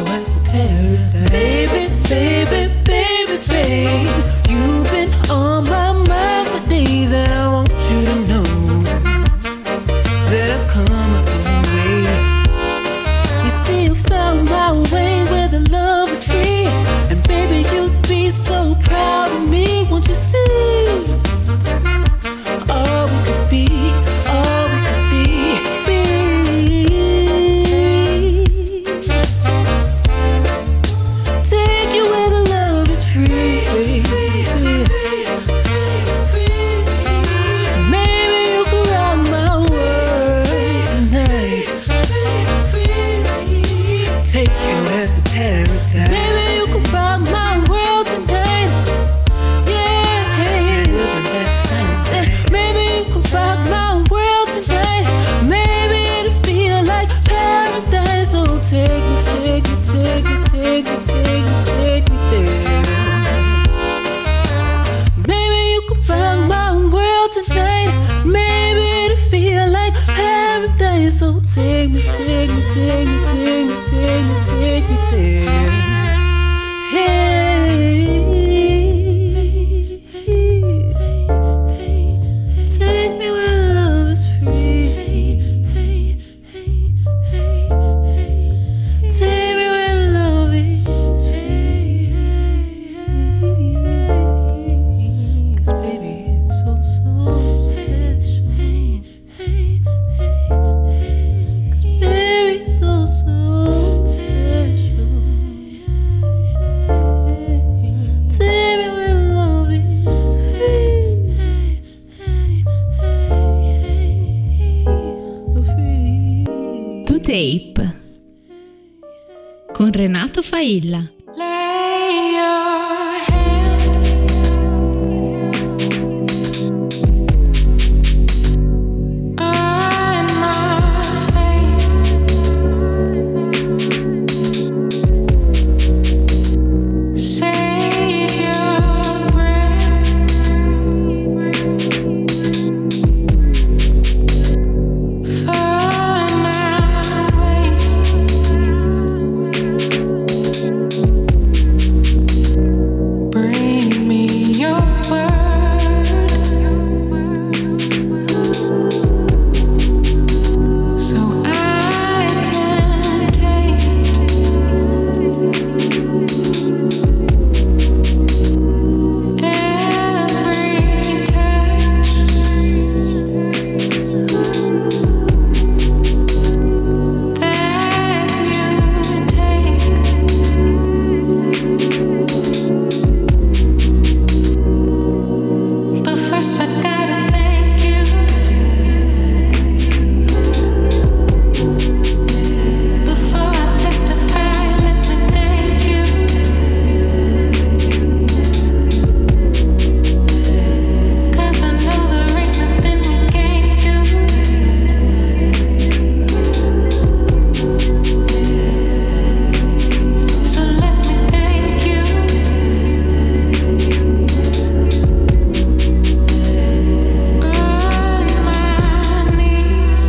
Tape con Renato Failla. Lay your hand on my face. Save your breath for my waste. Bring me your word, so I can taste every touch that you take. But first I gotta thank you. Before I testify, let me thank you. 'Cause I know there ain't nothing we can't do. So let me thank you. On my knees,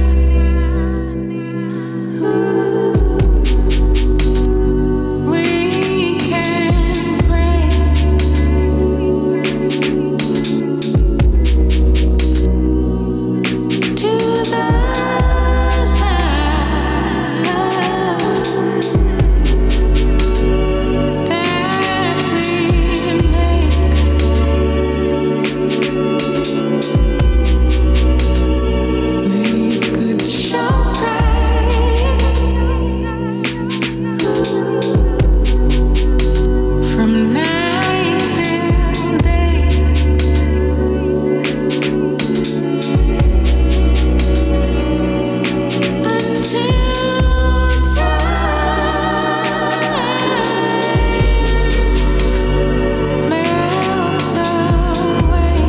we can pray to the love that we make. We could show praise from night till day, until time melts away.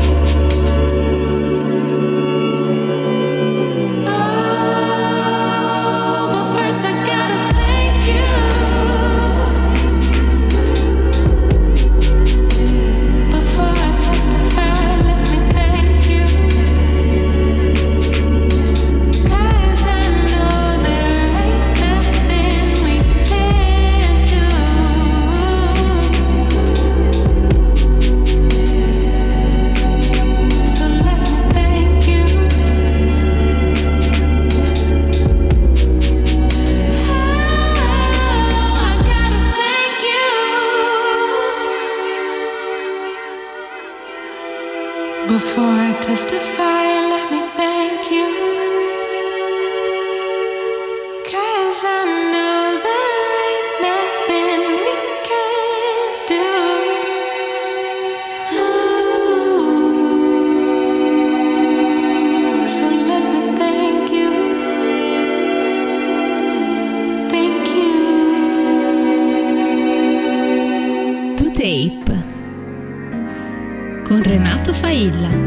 Oh, but first I gotta thank you. Before I testify, let me thank you. 'Cause I know there ain't nothing we can't do. So let me thank you. I gotta thank you. Before I testify, let me thank you. 'Cause I know there ain't nothing we can't do. So let me thank you. Thank you. To Tape con Renato Failla.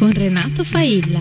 con Renato Failla.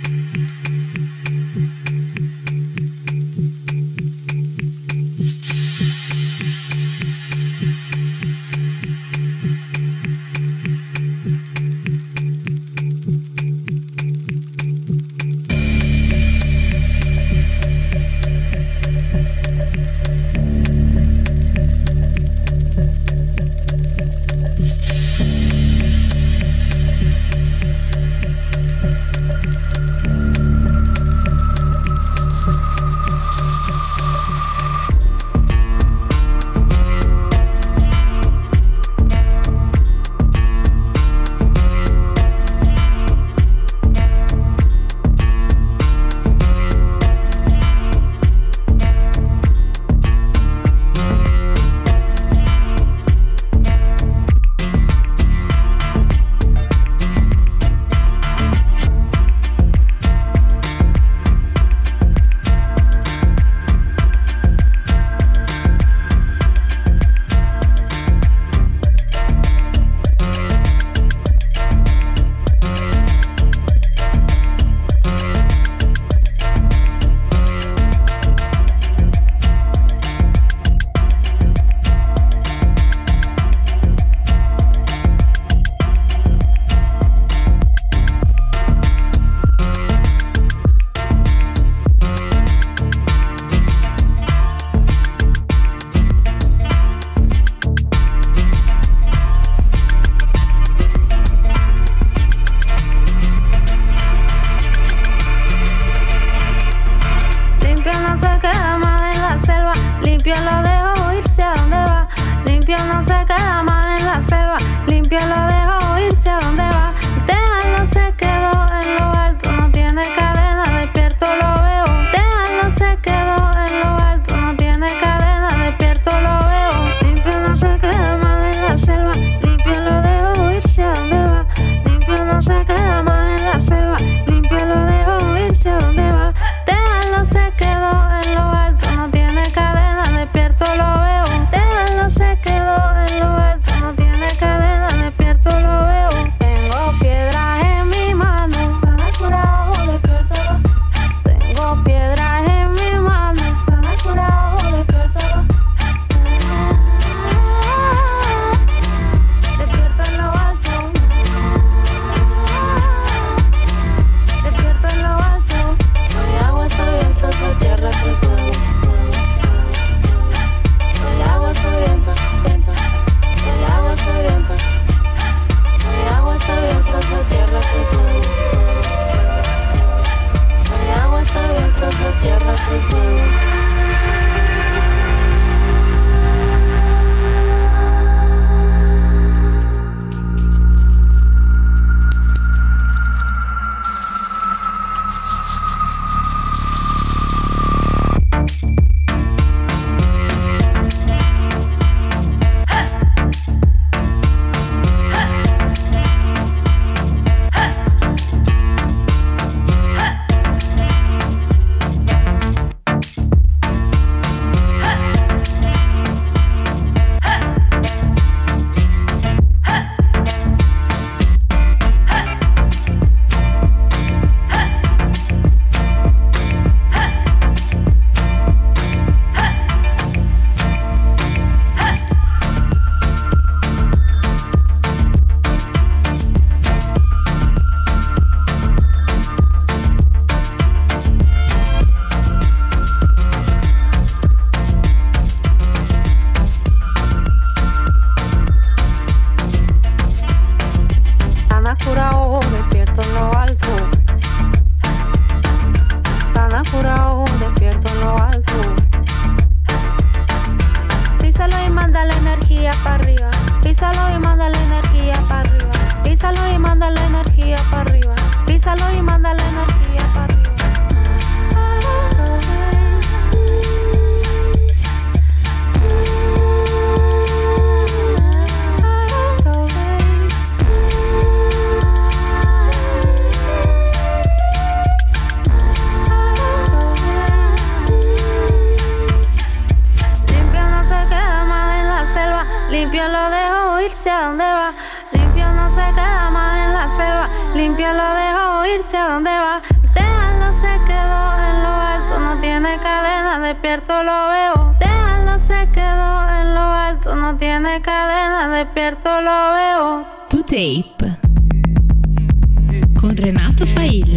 Limpio lo dejo irse a donde va. Limpio no se queda más en la selva. Limpio lo dejo irse a dónde va. Déjalo, se quedó en lo alto, no tiene cadena, despierto lo veo. Déjalo, se quedó en lo alto, no tiene cadena, despierto lo veo. To Tape con Renato Failla.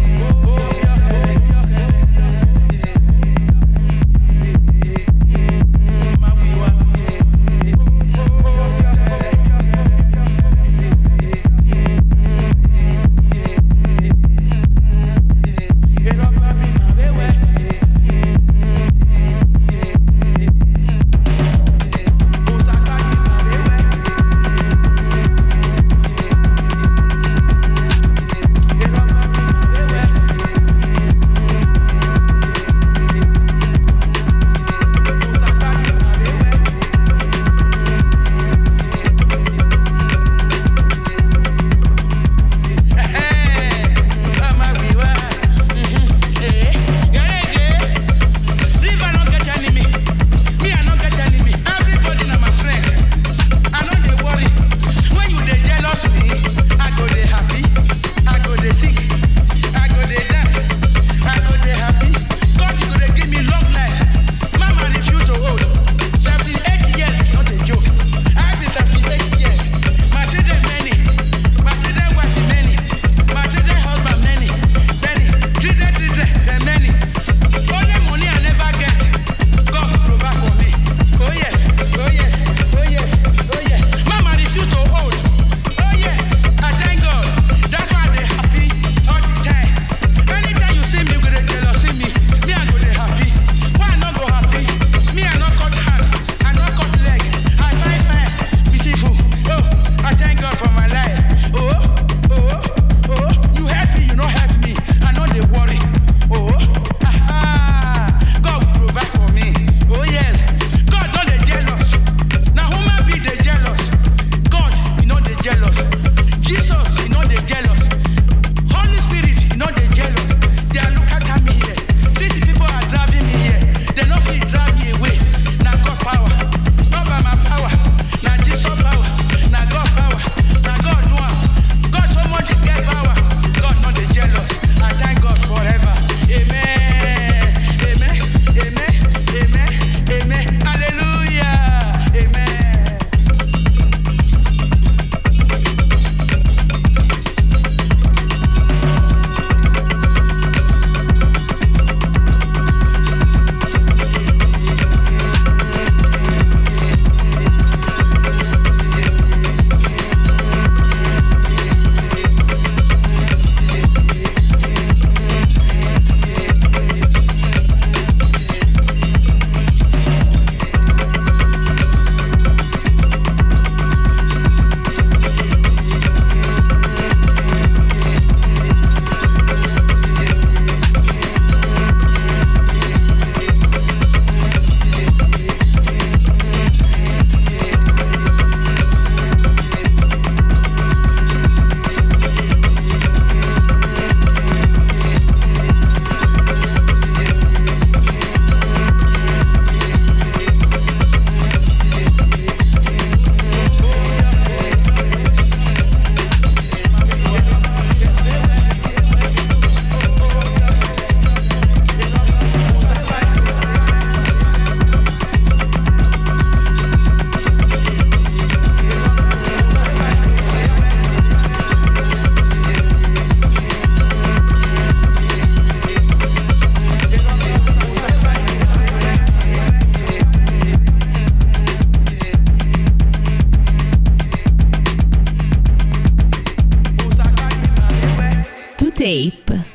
Tape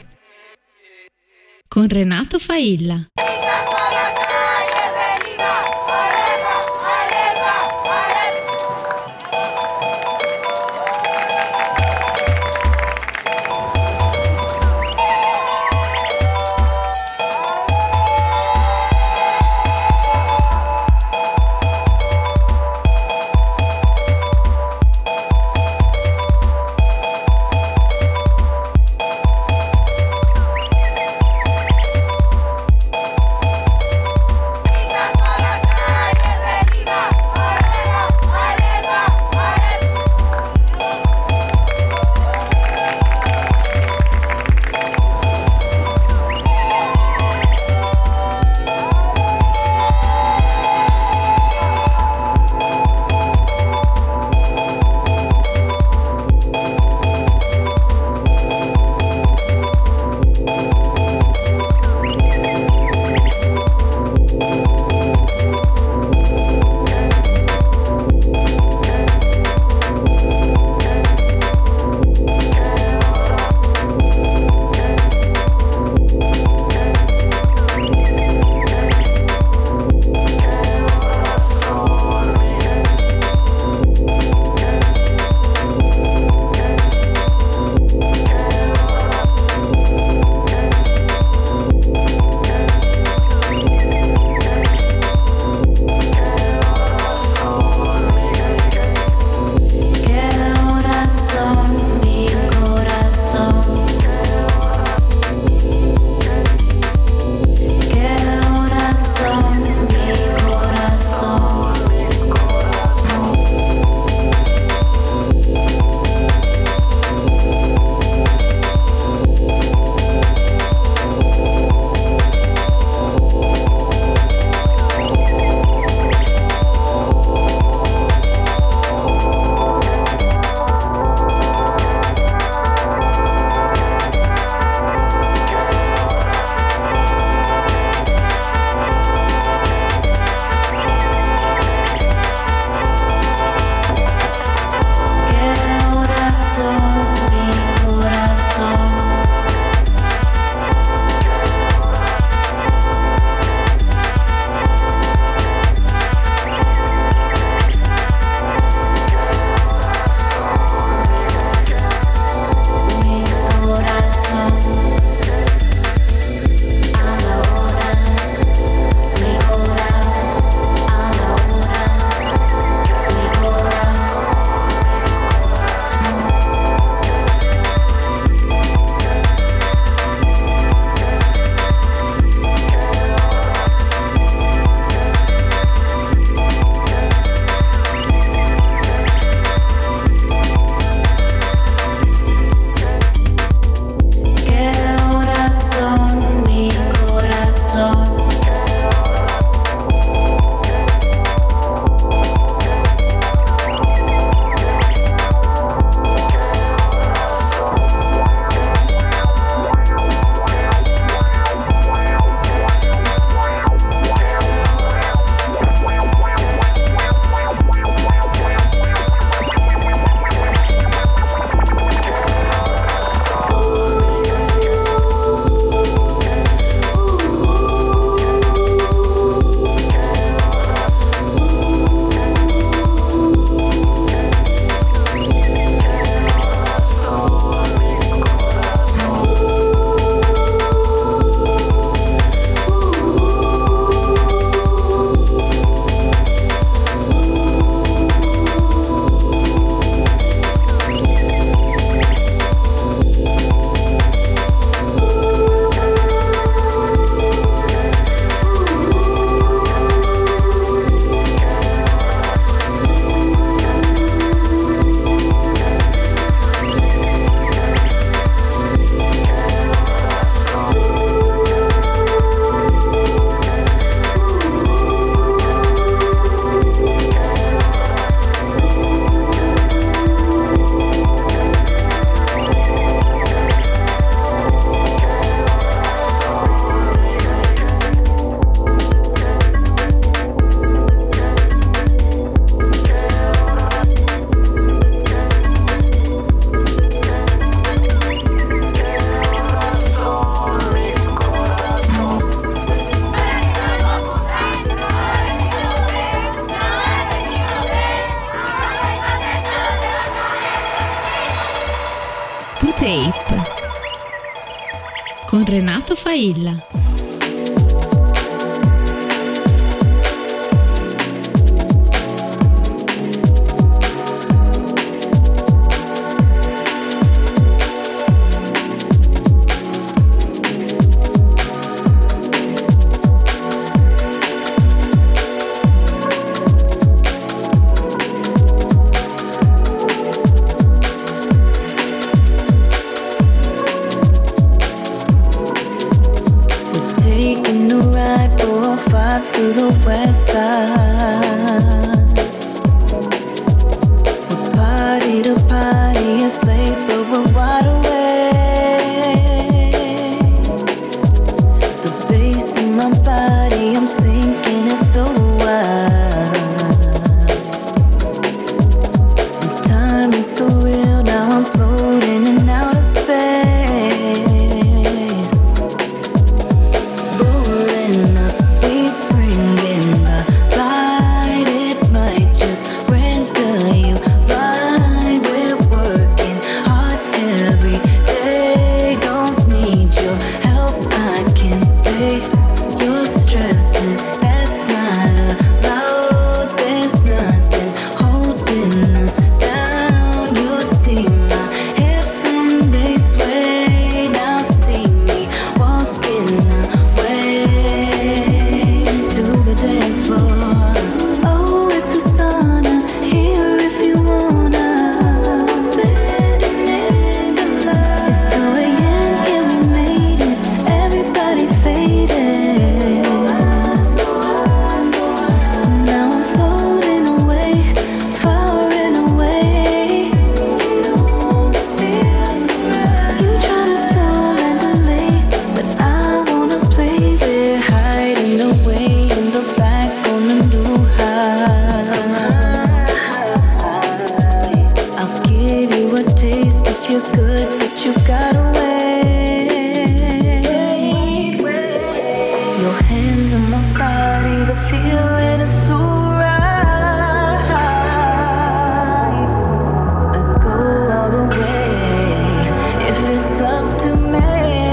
con Renato Failla. Tape con Renato Failla. Through the west side, we're party to party, it's late but we're wide awake. The bass in my body, I'm sinking, it's so wild. The time is so real, now I'm floating in outer space. Rolling up, we bring in the light. It might just render you blind. We're working hard every day. Don't need your help, I can pay your stress, and that's not allowed. There's nothing holding us down. You see my hips and they sway. Now see me walking away to the dance floor. Oh, it's a sauna here if you wanna. Sitting in the light. It's 2 a.m. yeah, we made it. Everybody faded. Now I'm floating away, far and away. You know it feels right. You tryna stall and delay, but I wanna play. We're hiding away in the back on the new high. I'll give you a taste if you're good, but you gotta wait. Your hands on my body, the feeling is so right. I go all the way if it's up to me.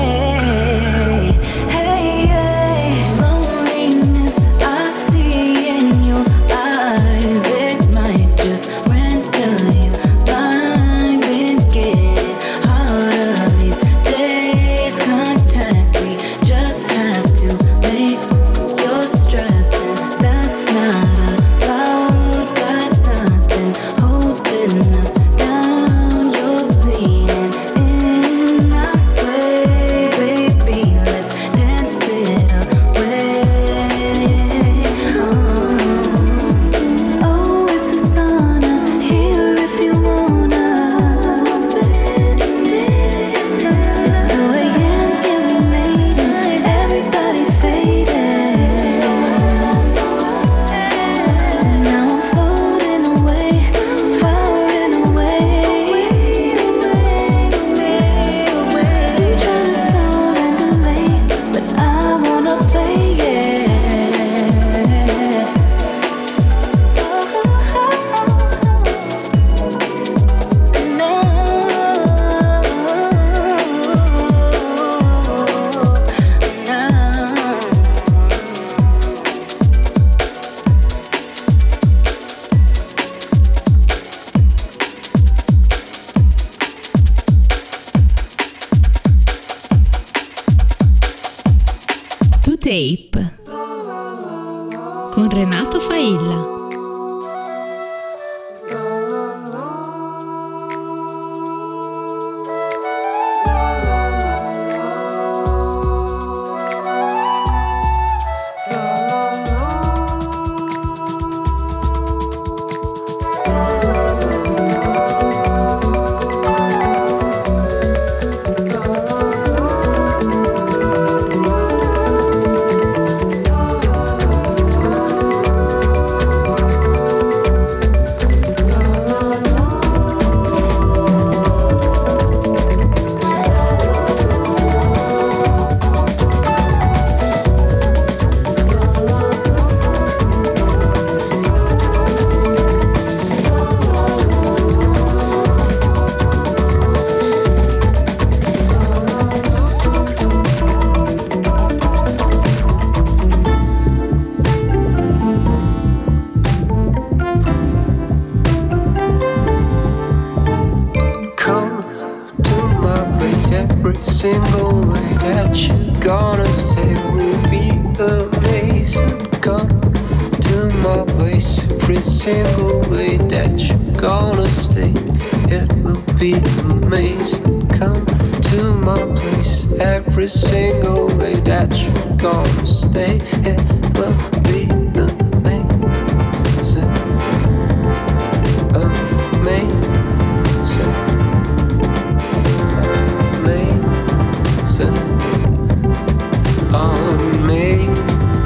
Hey, hey, loneliness I see in your eyes. It might just render you blind. Been getting harder these days. Contact, we just have to make your stress, and that's not allowed. Got nothing holding us down. You're leaning in, I sway. Baby, let's dance it away. Oh, it's a sauna here if you wanna. It's 2 a.m. yeah, we made it. Everybody faded. Now I'm floating away, far and away. You tryna stall and delay, but I wanna play, To Tape con Renato Failla. place. Every single way that you're gonna stay will be amazing. Come to my place. Every single way that you're gonna stay, it will be amazing. Come to my place. Every single way that you're gonna stay, it will be amazing. Amazing. Amazing.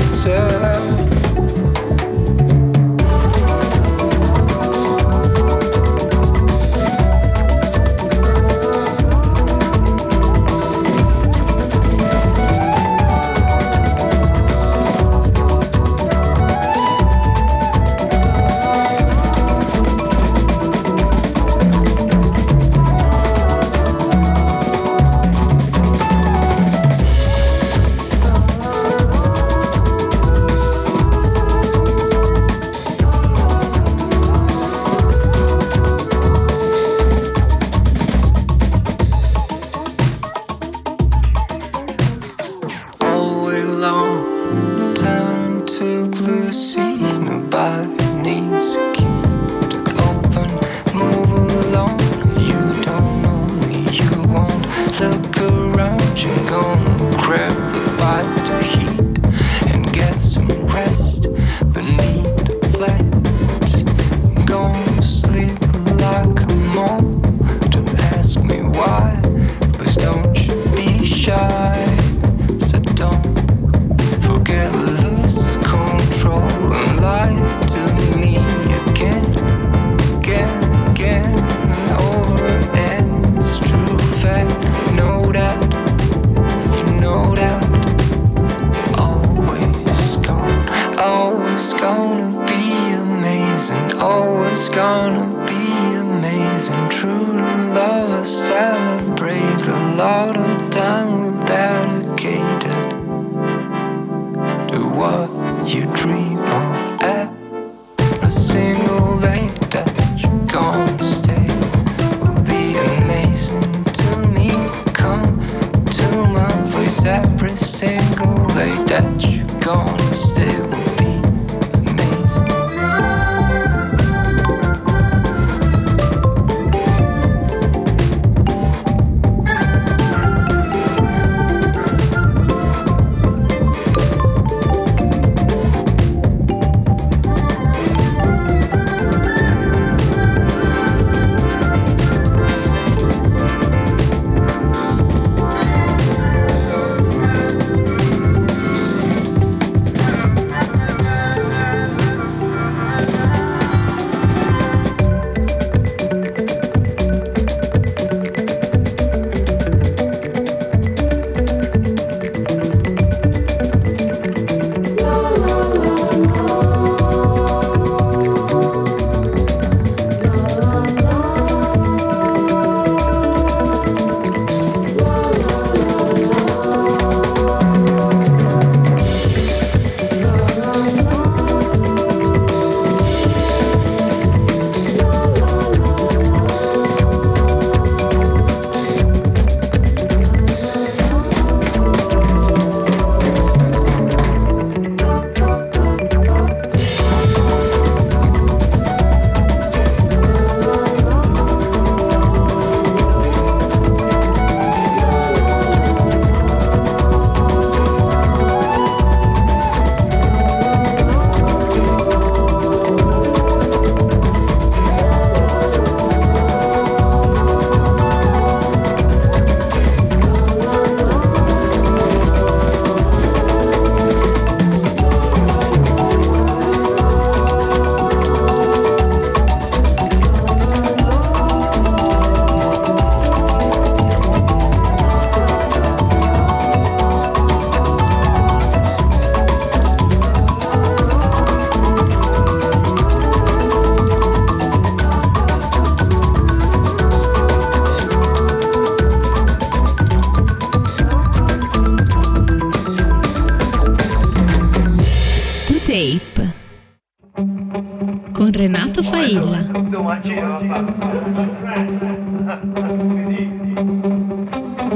con Renato Failla.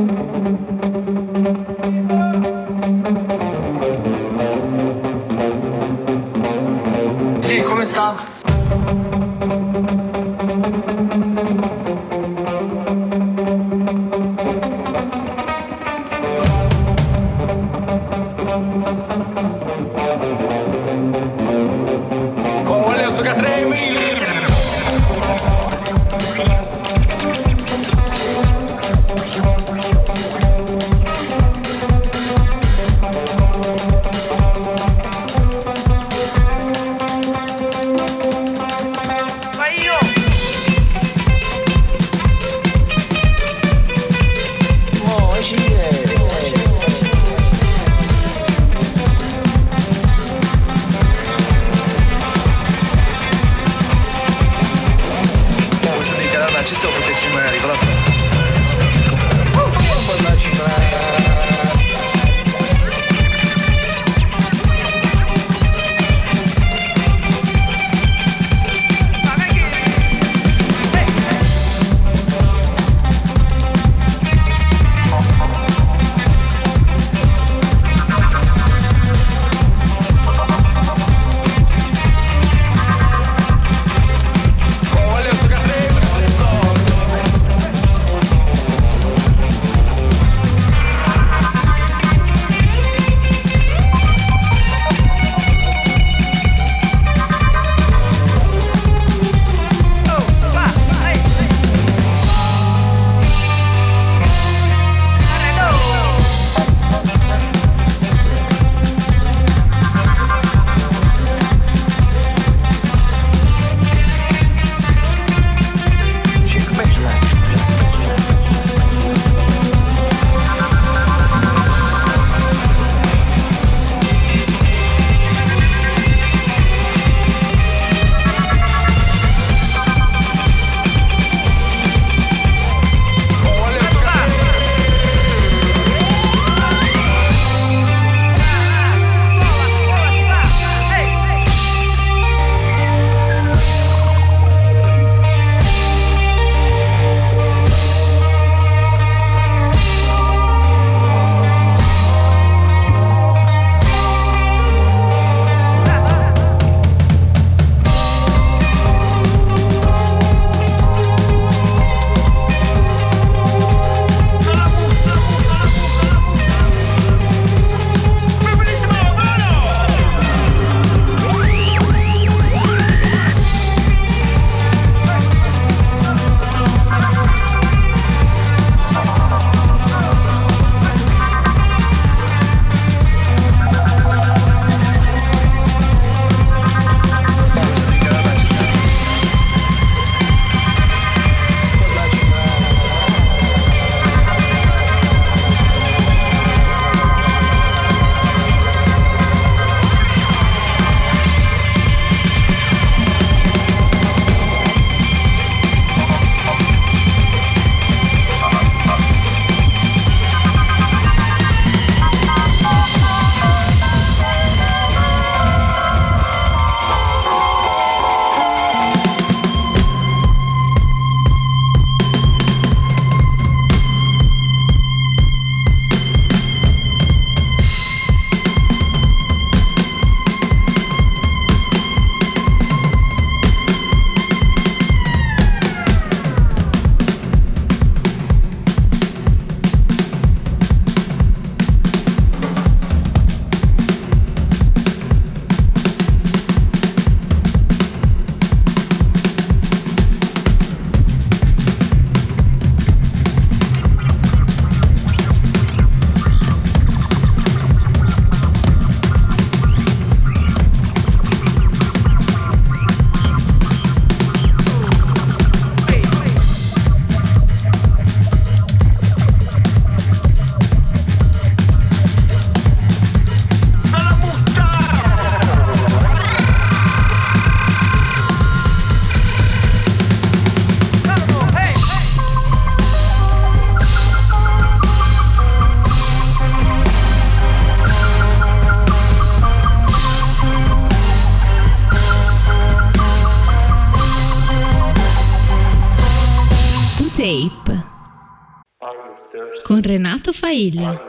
con Renato Failla.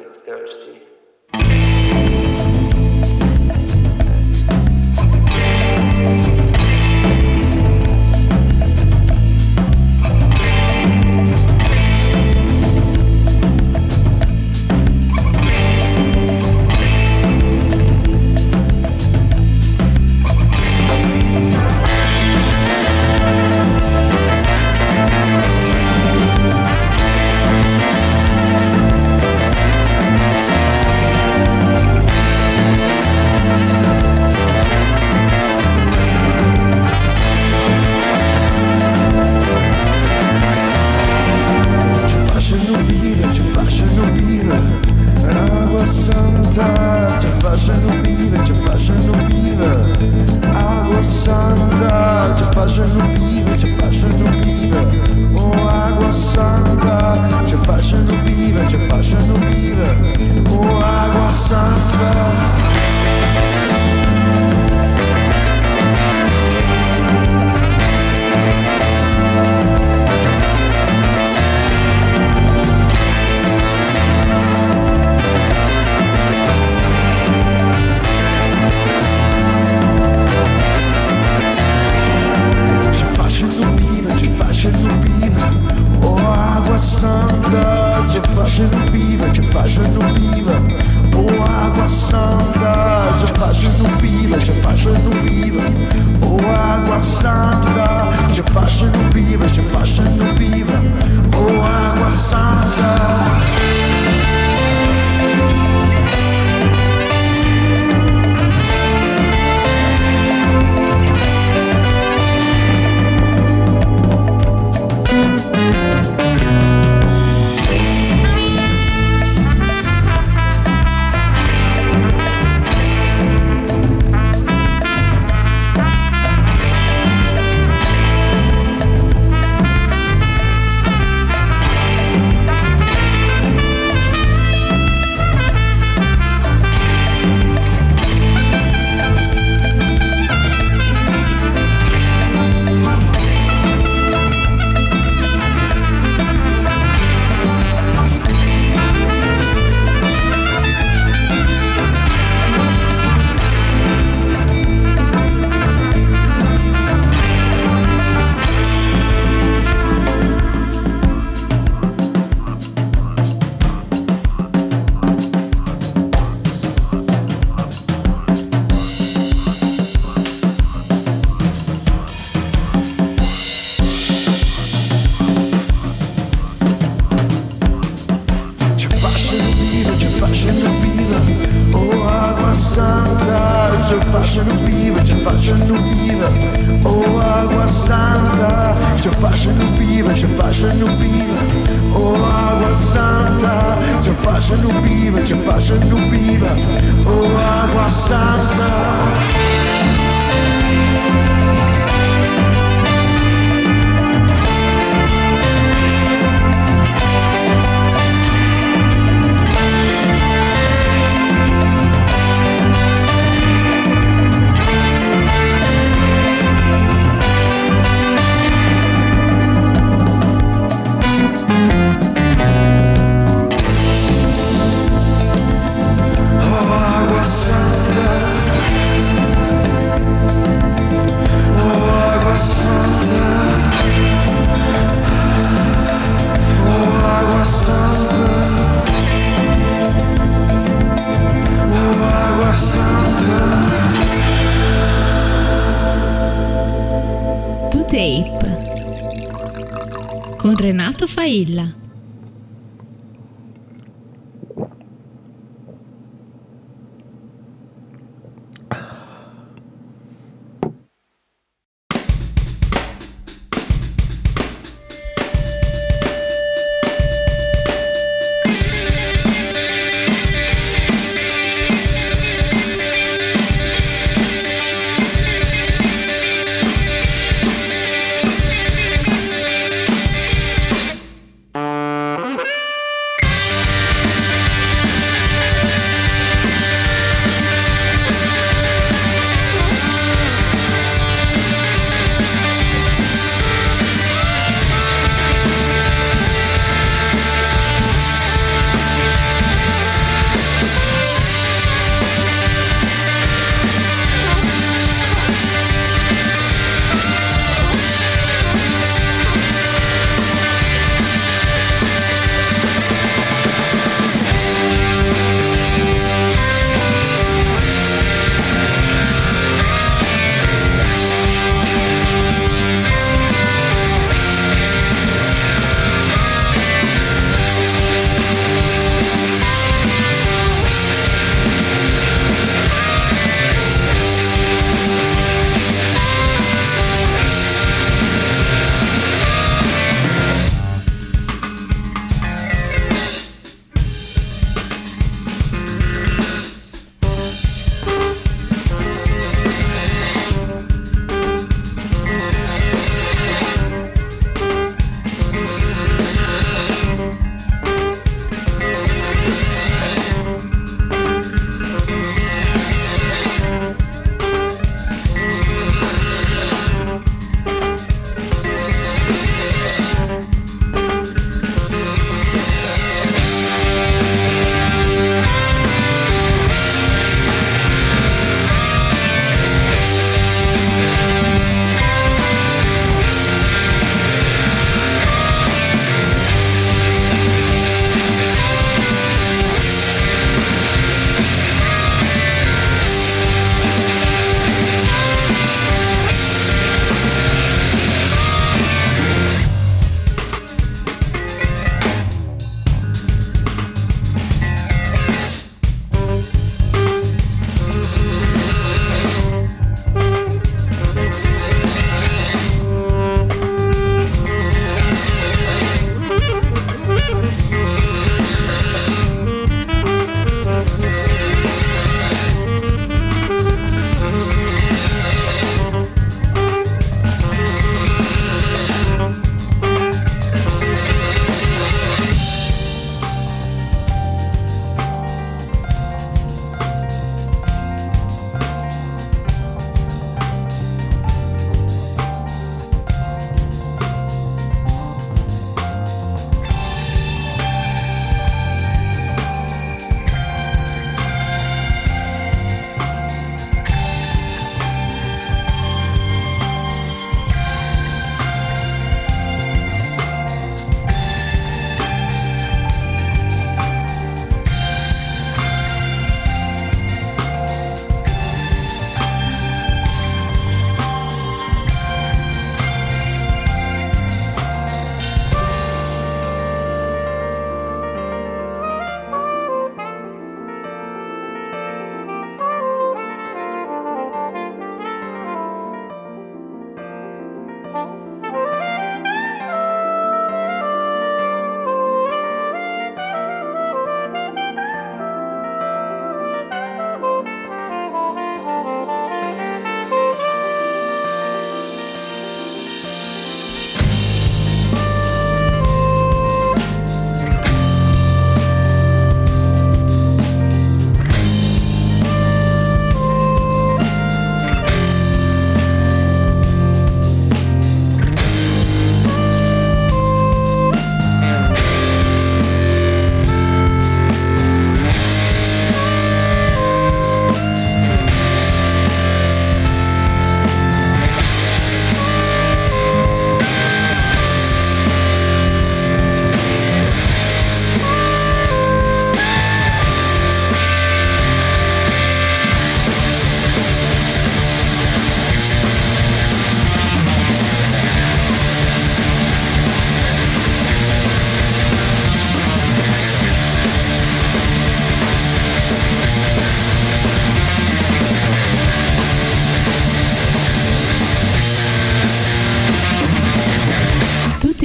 Con Renato Failla.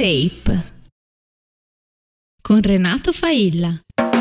Tape con Renato Failla.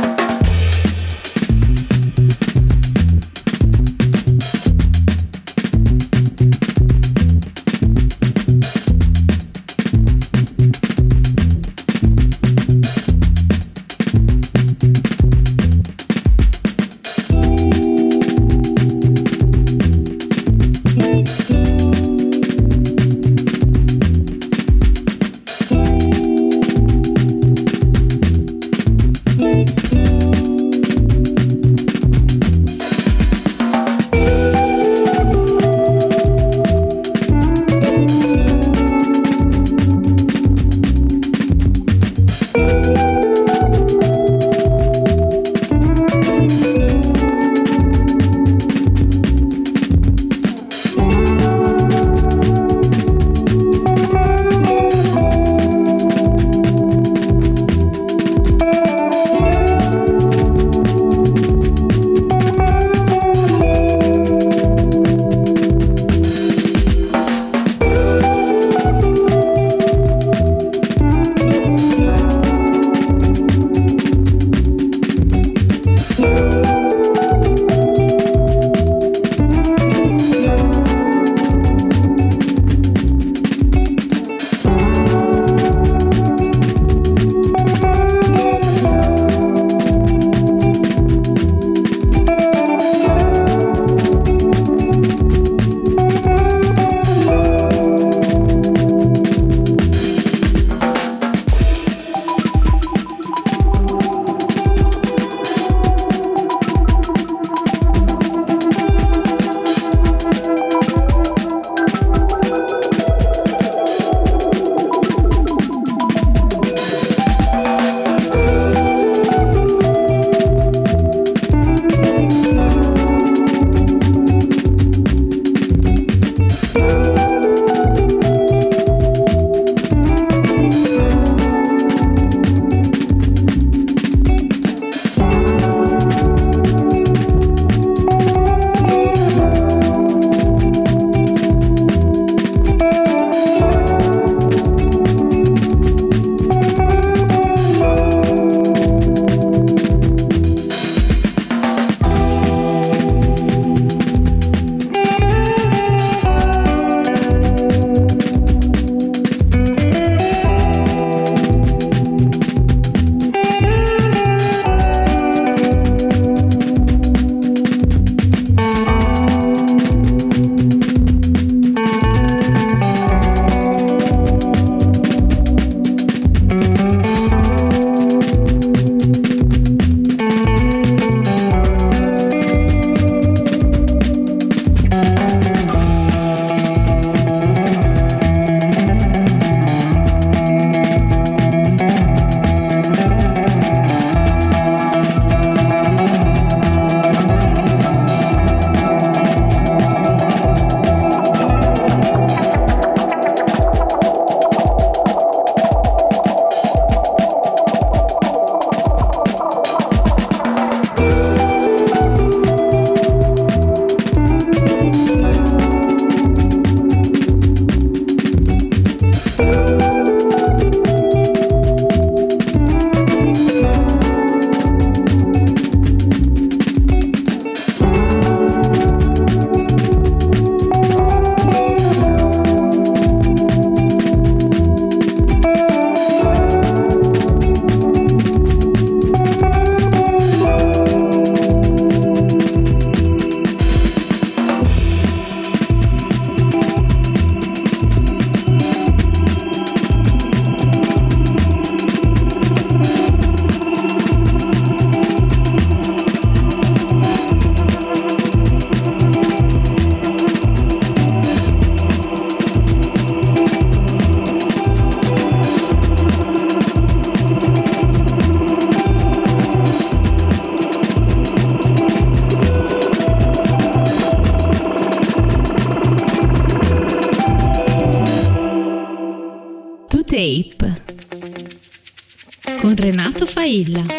Tape con Renato Failla.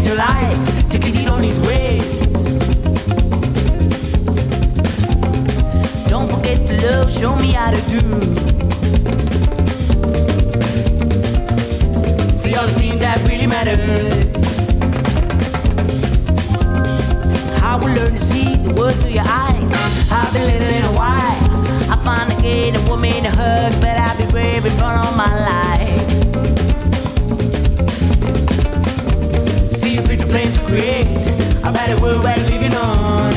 your life, take it on his way. Don't forget to love, show me how to do. See all the things that really matter. I will learn to see the world through your eyes. I've been living in a while. I find a gate, a woman to hug, but I'll be brave and run all my life. Still future plan to create a better world we're living on.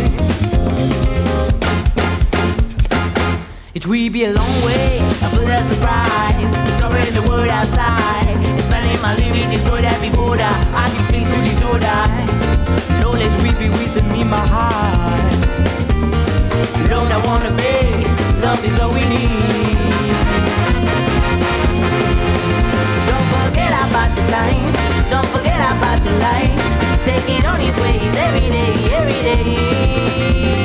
It will be a long way, a full of surprise. Discovering the world outside. Expanding my living, destroyed every border. I can face to disorder. Lawless will be with me, my heart. Alone I wanna be. Love is all we need. Don't forget about your time. Don't forget about your life. Take it on its ways every day, every day.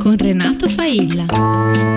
con Renato Failla.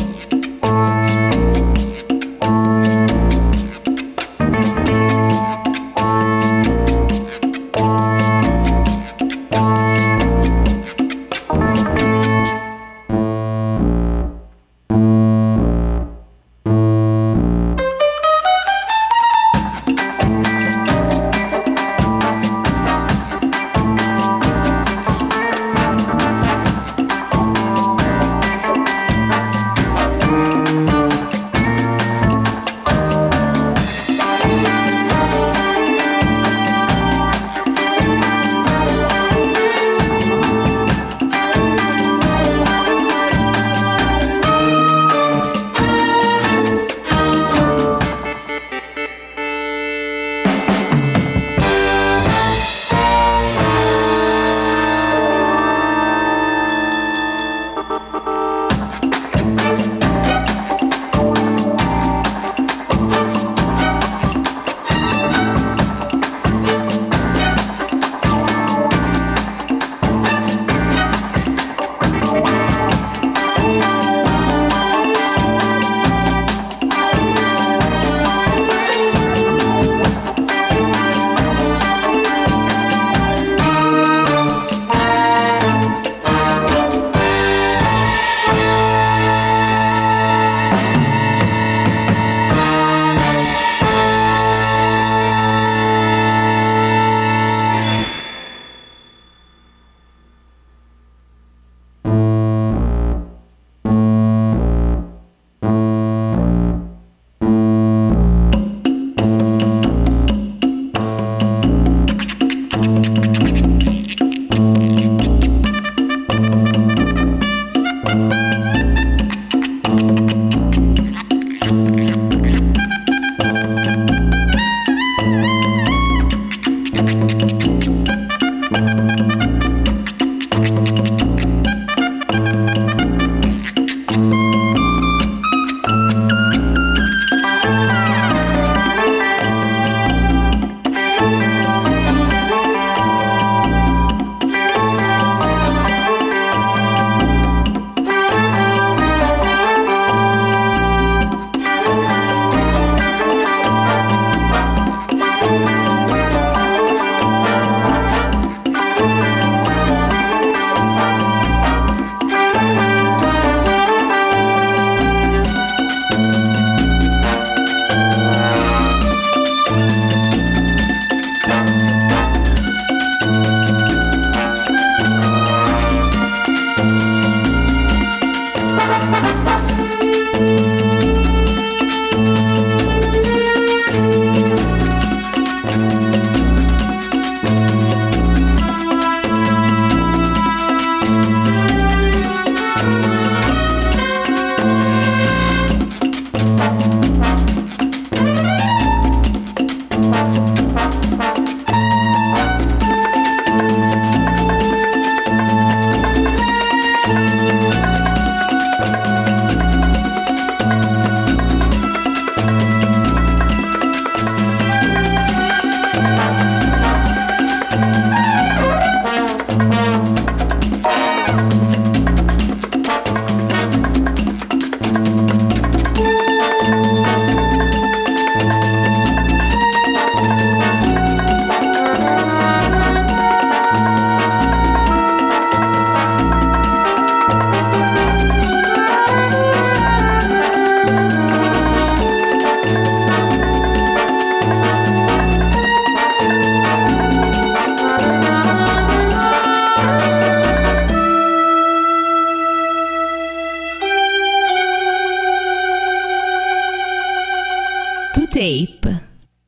Tape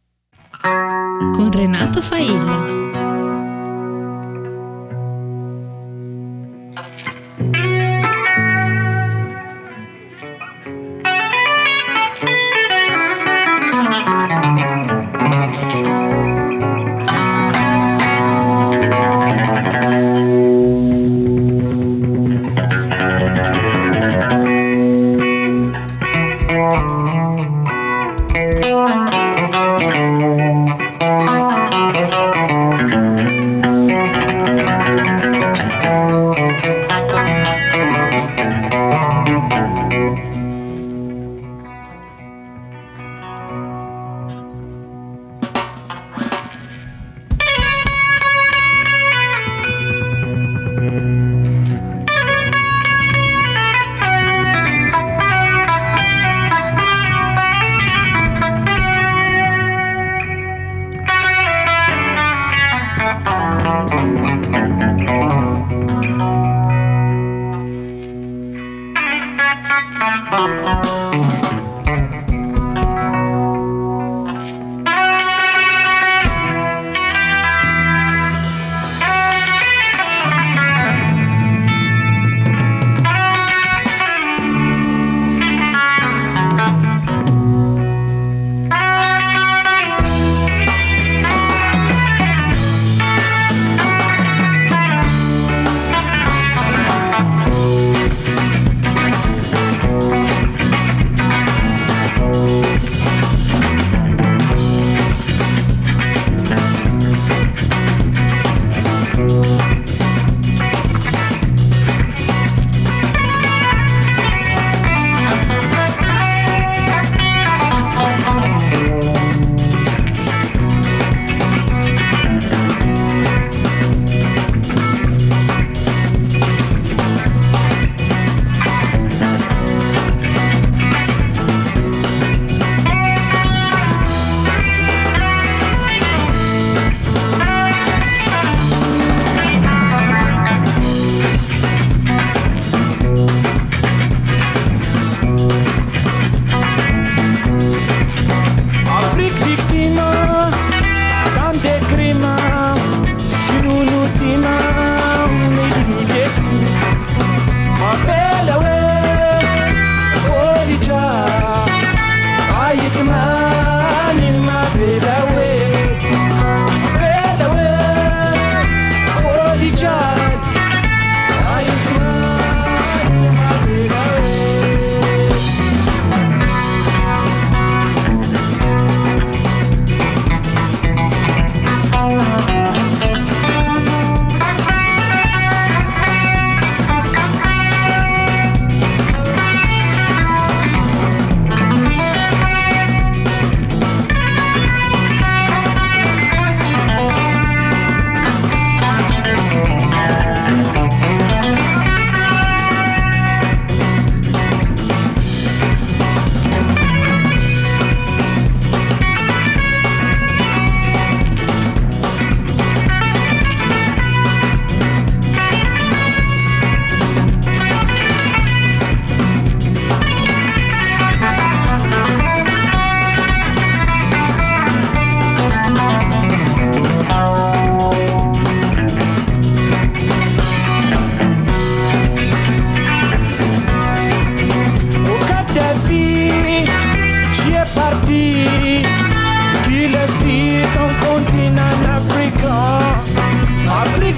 con Renato Failla.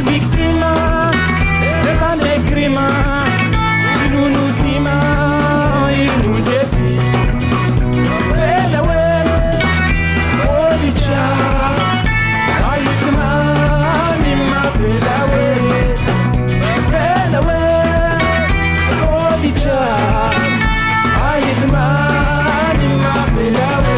Afrique vittima de tante crima, si non ultima il non desi. Bella uè, fuori già, ai domani ma bella uè, bella uè, fuori già, ai domani ma bella uè.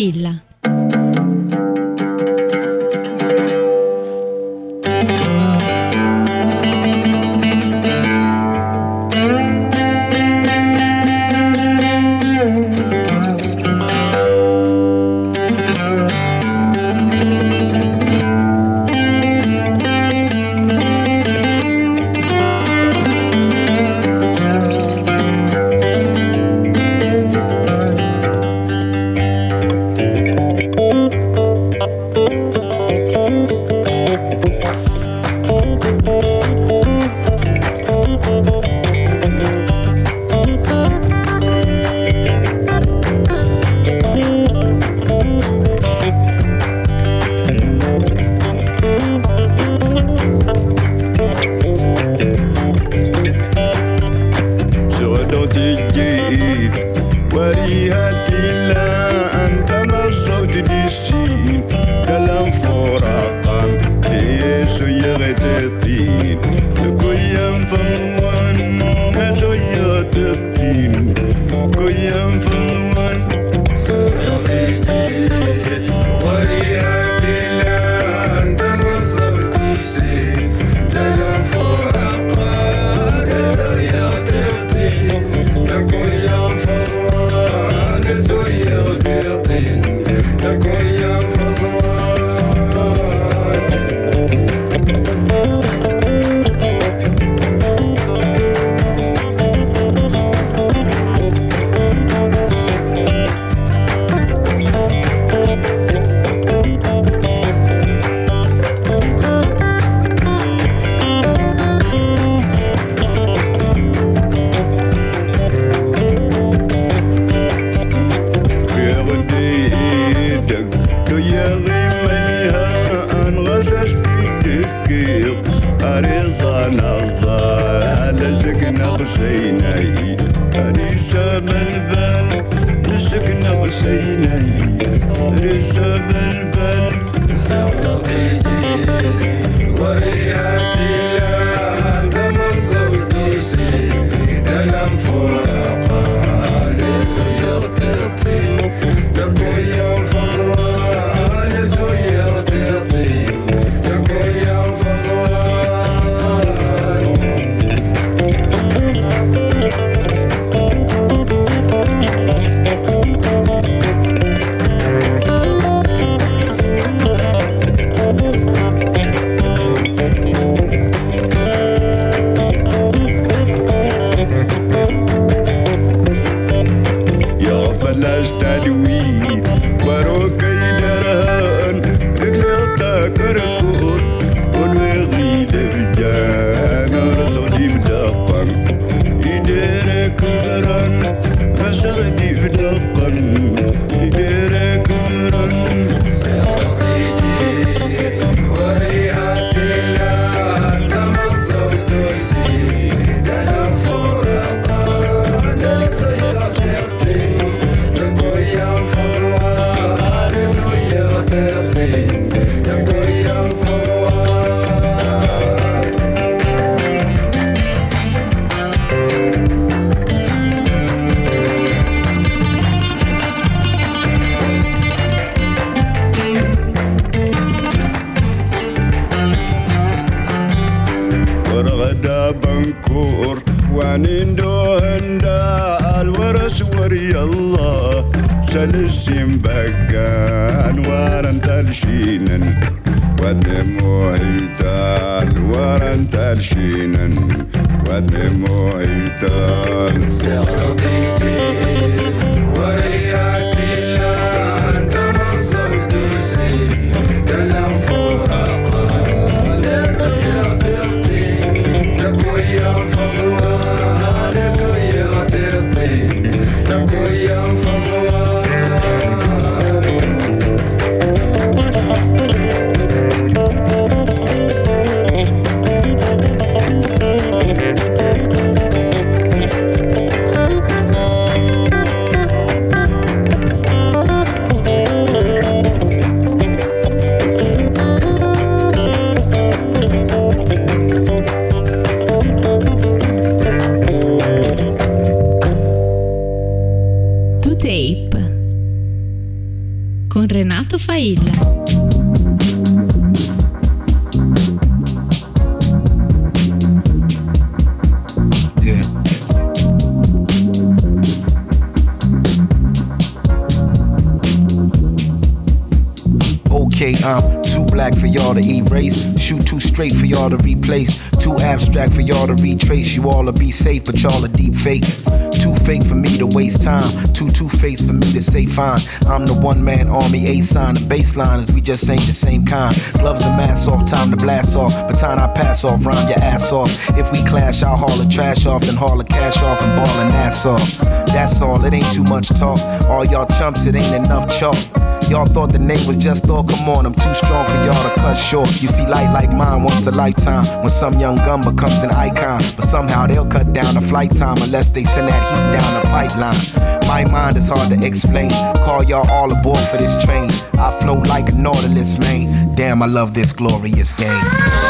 Failla. I'm too black for y'all to erase. Shoot too straight for y'all to replace. Too abstract for y'all to retrace. You all to be safe, but y'all are deep fakes. Too fake for me to waste time. Two-faced for me to say fine. I'm the one-man army, A-sign. The baseline is we just ain't the same kind. Gloves and masks off, time to blast off. Baton I pass off, rhyme your ass off. If we clash, I'll haul the trash off, then haul the cash off and ball and ass off. That's all, it ain't too much talk. All y'all chumps, it ain't enough chalk. Y'all thought the name was just all, come on, I'm too strong for y'all to cut short. You see light like mine once a lifetime, when some young gun becomes an icon. But somehow they'll cut down the flight time unless they send that heat down the pipeline. My mind is hard to explain, call y'all all aboard for this train. I float like a Nautilus, man. Damn, I love this glorious game.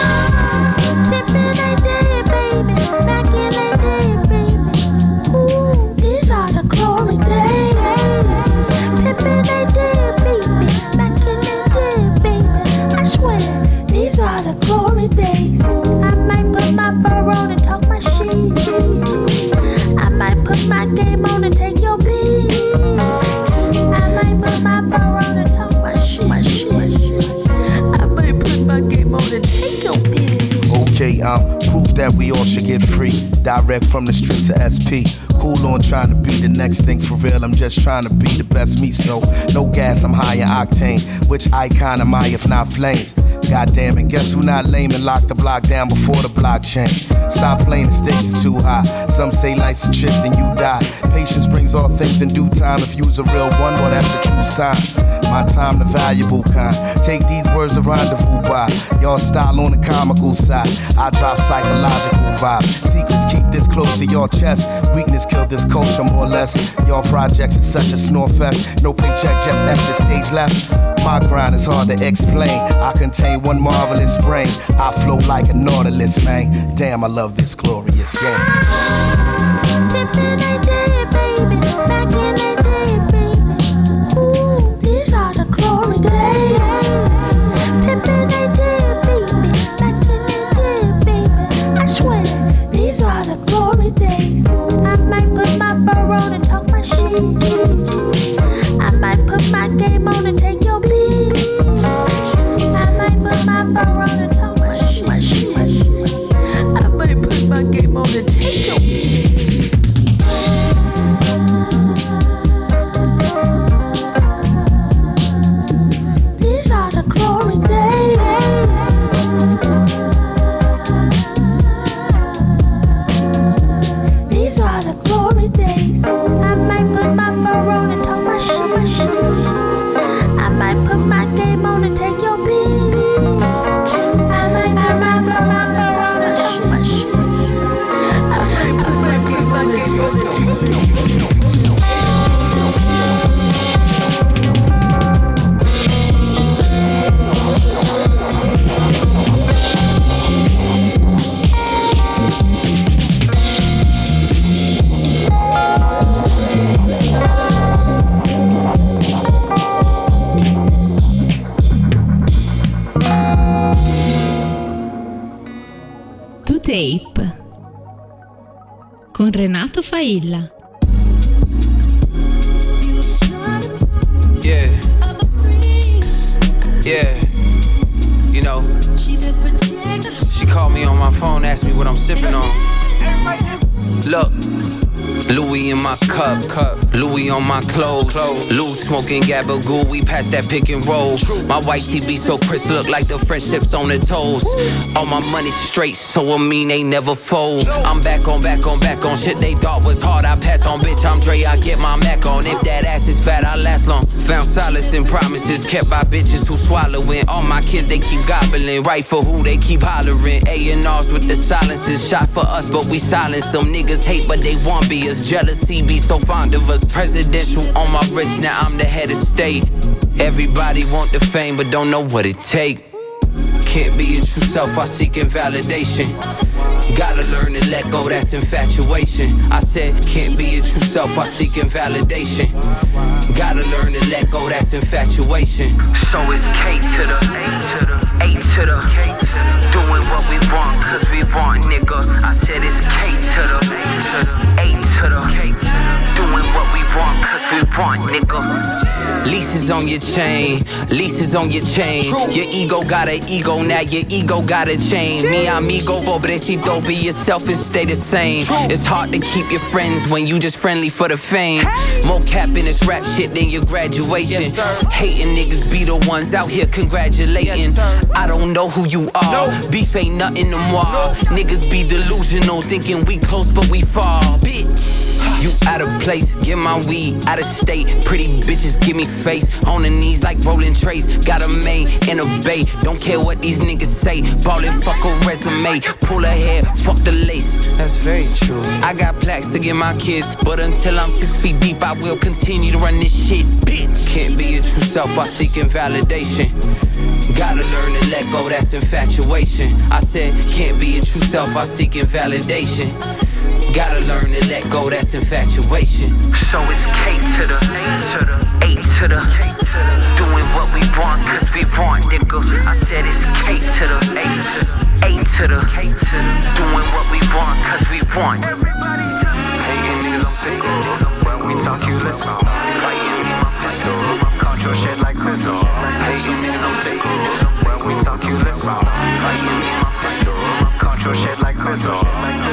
Proof that we all should get free. Direct from the street to SP. Cool on trying to be the next thing for real. I'm just trying to be the best me. So no gas, I'm high in octane. Which icon am I if not flames? Goddamn it, guess who not lame and locked the block down before the blockchain? Stop playing, the stakes is too high. Some say life's a trip, then you die. Patience brings all things in due time. If you's a real one, well that's a true sign. My time the valuable kind. Take these words to rendezvous by. Y'all style on the comical side. I drop psychological vibes. Secrets keep this close to your chest. Weakness killed this culture more or less. Y'all projects is such a snore fest. No paycheck, just exit stage left. My grind is hard to explain. I contain one marvelous brain. I flow like a Nautilus, man. Damn, I love this glorious game. I might put my game on and take your beat. I might put my fur on and talk my shit. I might put my game on and take your beat. These are the glory days. These are the glory days. I might put my fur on and talk my shit. I might put my game on and take your beat. I might put my fur on and talk my shit. I might put my game on and take your beat. Tape con Renato Failla. Yeah, yeah, you know, she called me on my phone, asked me what I'm sipping on. Look, Louis in my cup, Louis on my clothes. Lou smoking Gabagool, we pass that pick and roll. My white TV so crisp, look like the French tips on the toes. All my money straight, so I mean they never fold. I'm back on shit they thought was hard. I passed on, bitch, I'm Dre, I get my Mac on. If that ass is fat, I last long. Found solace in promises kept by bitches who swallowing. All my kids, they keep gobbling. Right for who, they keep hollering. A&Rs with the silences. Shot for us, but we silence. Some niggas hate, but they want be us. Jealousy be so fond of us. Presidential on my wrist, now I'm the head of state. Everybody want the fame, but don't know what it take. Can't be your true self, I seeking validation. Gotta learn to let go, that's infatuation. I said, can't be your true self, I seeking validation. Gotta learn to let go, that's infatuation. So it's K to the A to the doing what we want, cause we want, nigga. I said it's K to the A to the doing what we want, cause we want, nigga. Leases on on your chain, leases on your chain. Your ego got an ego, now your ego got a chain. Mi amigo, pobrecito, be yourself and stay the same. It's hard to keep your friends when you just friendly for the fame. More cap in this rap shit than your graduation. Hating niggas be the ones out here congratulating. I don't know who you are, beef ain't nothing no more. Niggas be delusional, thinking we close but we far. Bitch, you out of place, get my weed out of state. Pretty bitches give me face, on the knees like rolling trays. Got a main and a bay, don't care what these niggas say. Ballin', fuck a resume, pull her hair, fuck the lace. That's very true. I got plaques to give my kids, but until I'm 6 feet deep, I will continue to run this shit. Bitch, can't be your true self while seeking validation. Gotta learn to let go, that's infatuation. I said, can't be your true self while seeking validation. Gotta learn to let go, that's infatuation. So it's K to the A to the doing what we want, cause we want, nigga. I said it's K to the A to the doing what we want, cause we want. Hating niggas, I'm sick of. When we talk, you listen. Fighting me, my pistol. Control shit like sizzle. Hating niggas, I'm sick of. When we talk, you listen. Fighting me, my pistol. Control shit like sizzle.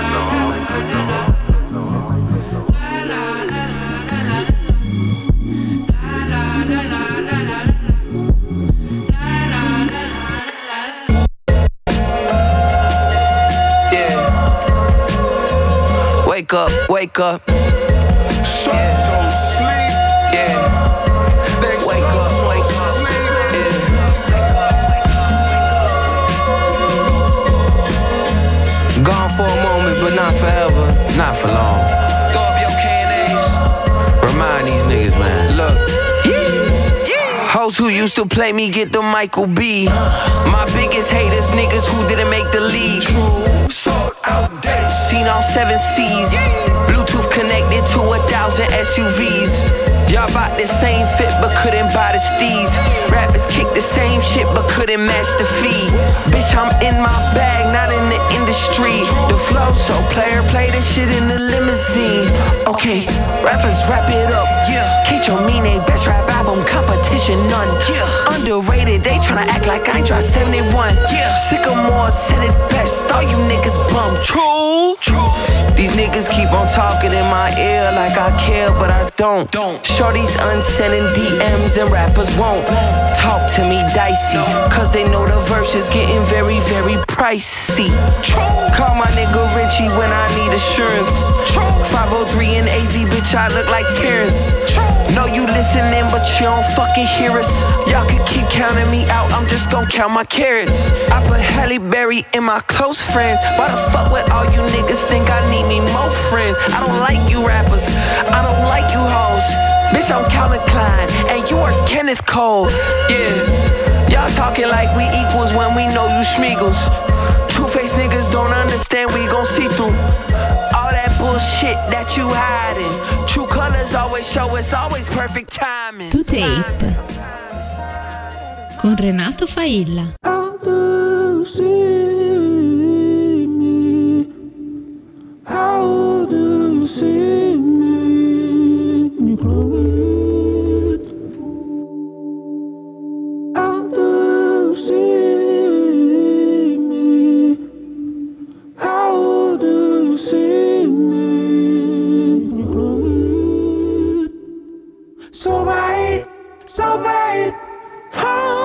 Wake up, wake up. So sleep. Yeah. Wake up, wake up. Yeah. Gone for a moment, but not forever, not for long. Throw up your K&As. Remind these niggas, man. Look. Hoes who used to play me get the Michael B. My biggest haters, niggas who didn't make the league. So outdated. Seen all 7 C's. Bluetooth connected to 1,000 SUVs. Y'all bought the same fit but couldn't buy the steez. Rappers kick the same shit but couldn't match the fee. Bitch, I'm in my bag, not in the industry. The flow so player play this shit in the limousine. Okay, rappers wrap it up. Yeah, Kate Your Mine, best rap album, competition none. Yeah, underrated, they tryna act like I ain't dropped 71. Yeah, Sycamore said it best, all you niggas bums. True. These niggas keep on talking in my ear like I care, but I don't. Shorties unsending DMs and rappers won't talk to me dicey, cause they know the verse is getting very, very pricey. Call my nigga Richie when I need assurance. 503 and AZ, bitch, I look like Terrence. Know you listening, but you don't fucking hear us. Y'all could keep counting me out, I'm just gon' count my carrots. I put Halle Berry in my close friends. Why the fuck would all you niggas think I need me more friends? I don't like you rappers, I don't like you hoes. Bitch, I'm Calvin Klein, and you are Kenneth Cole. Yeah, y'all talking like we equals when we know you schmeagles. Two-faced niggas don't understand, we gon' see through all that bullshit that you hiding. True colors always show, it's always perfect timing. To Tape con Renato Failla. How do you see me? How do you see me when you close? How do you see me? How do you see me when you close? So bright, so bright. How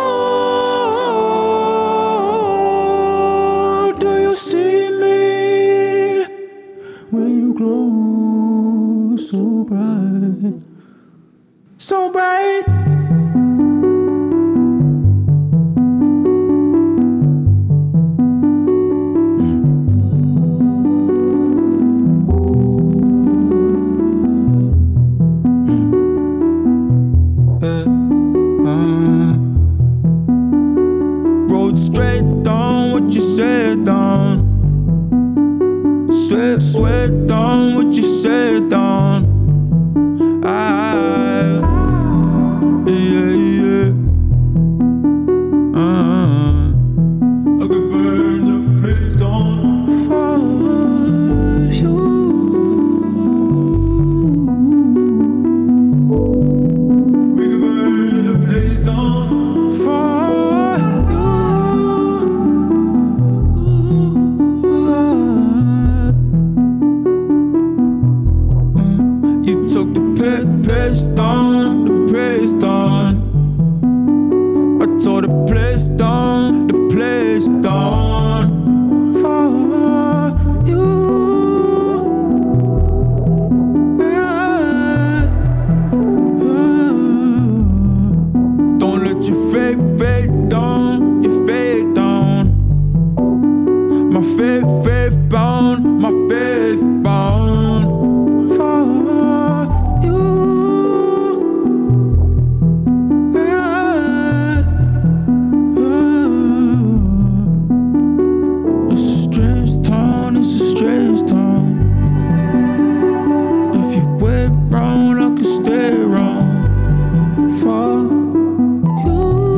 do you see me when you glow so bright, so bright? Road straight down what you said down. Sweat down what you said down. Yeah. I could burn the place down for you. We could burn the place. My faith bound, my faith bound for you. It's a strange town, it's a strange town. If you wait round, I can stay round for you.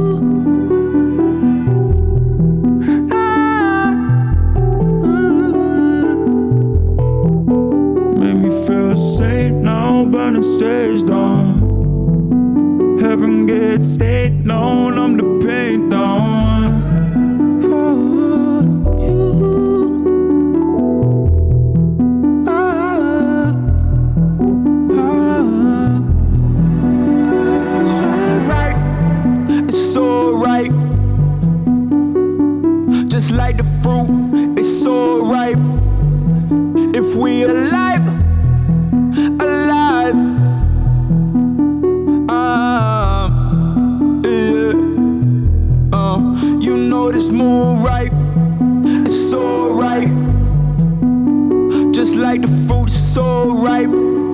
Make me feel safe now, burning stage down. Heaven gets stayed known, I'm the pain down. Just like the fruit, it's so ripe. If we alive, alive, yeah. You know this moon ripe, it's so ripe. Just like the fruit, it's so ripe.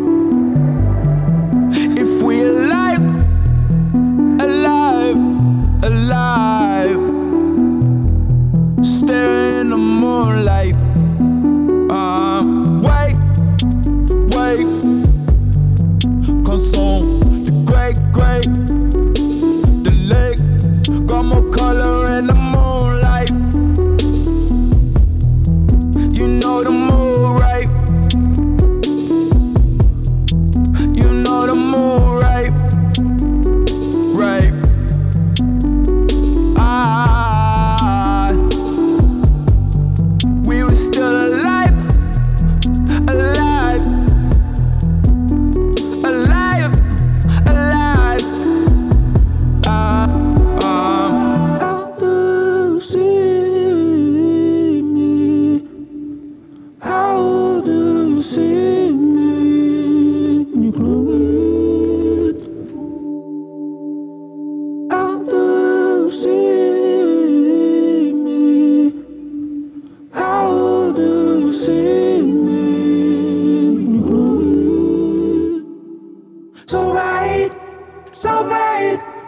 If we alive, alive, alive. Staring in the moonlight. Wait, wait. Consume the great, great. The lake got more color in the moonlight. You know the moon, right? You know the moon, right? Right. We were still alive, alive, alive, alive. How do you see me? How do you see me when you close it? How do you see me? How do you see me when you close it? So right, so bad.